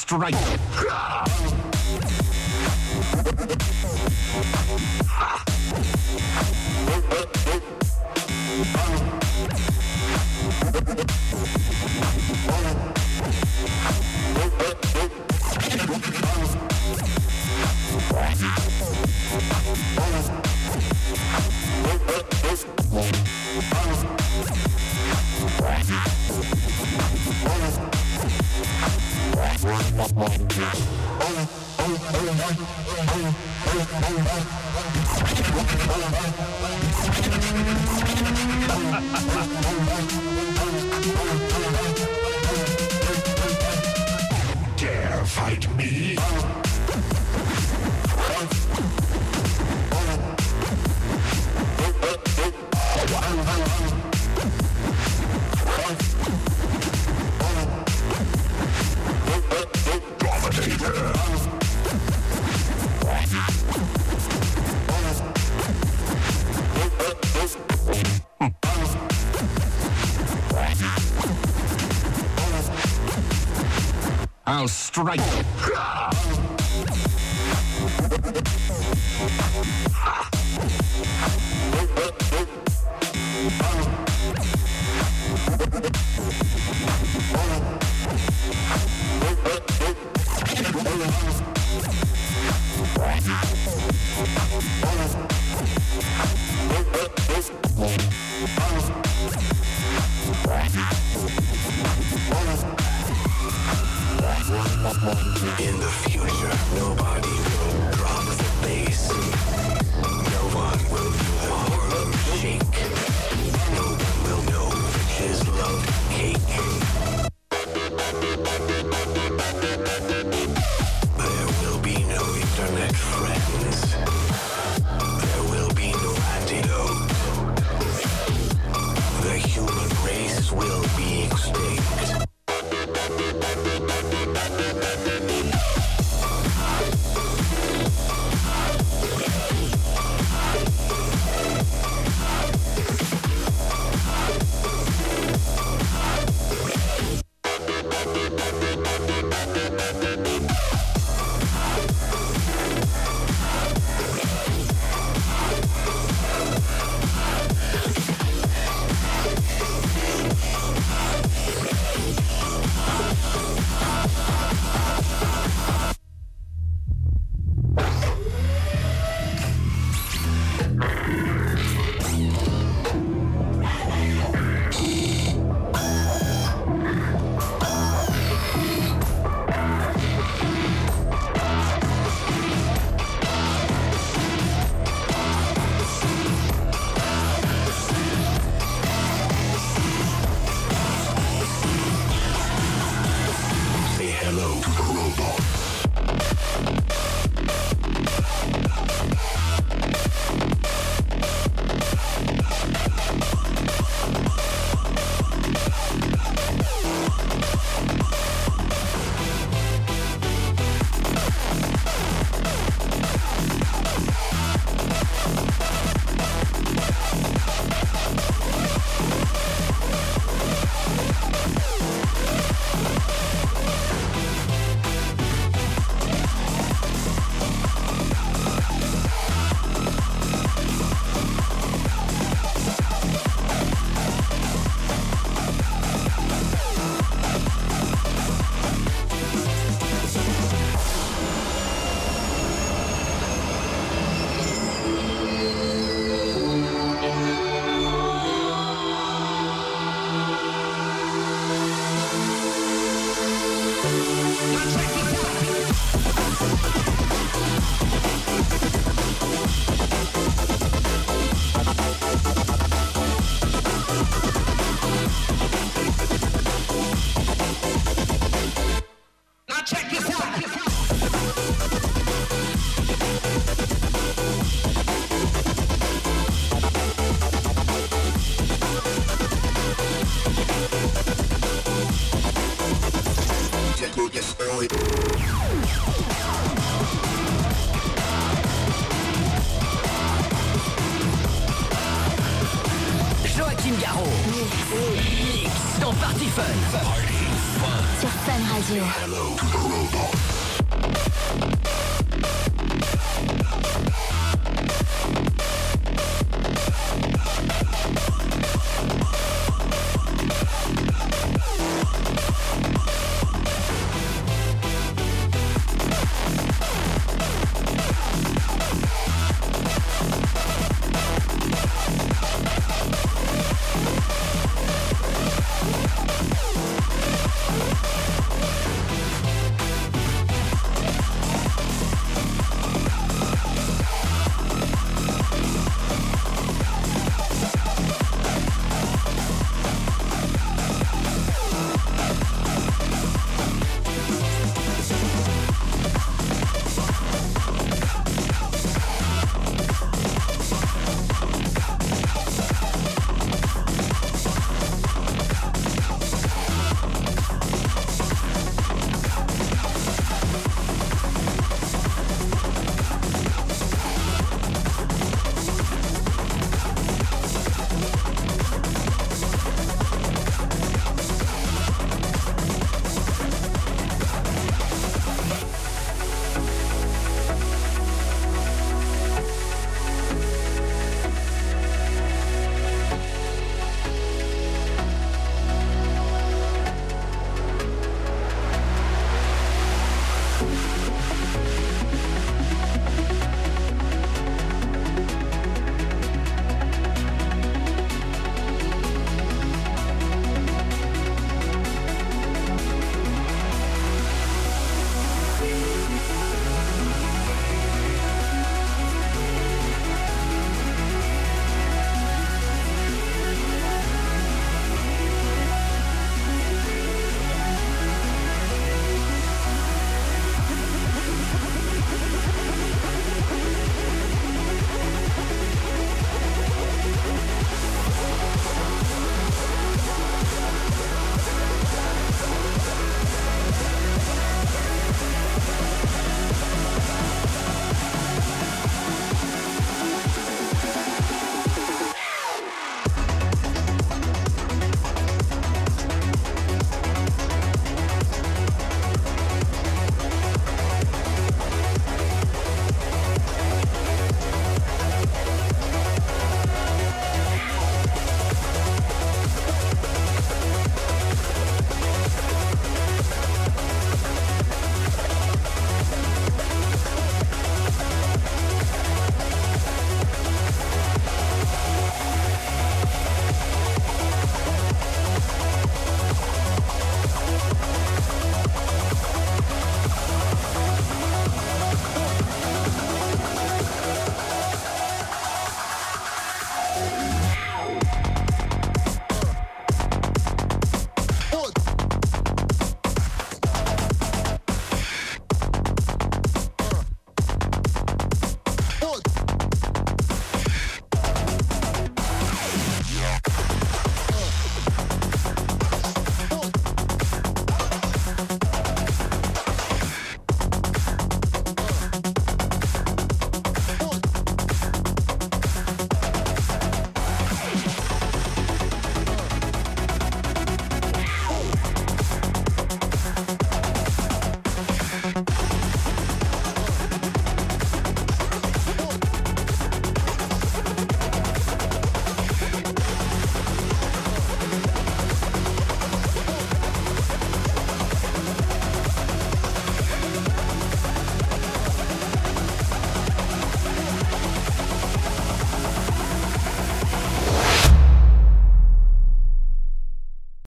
strike. Dare fight me. I'll strike. In the future, nobody will drop the bass. No one will do the Harlem shake. No one will know his love cake. There will be no internet friends. There will be no antidote. The human race will be extinct. Joachim Garraud. Mix dans Party Fun. Party Fun. Sur Fun. Fun Radio. Hello to the robot.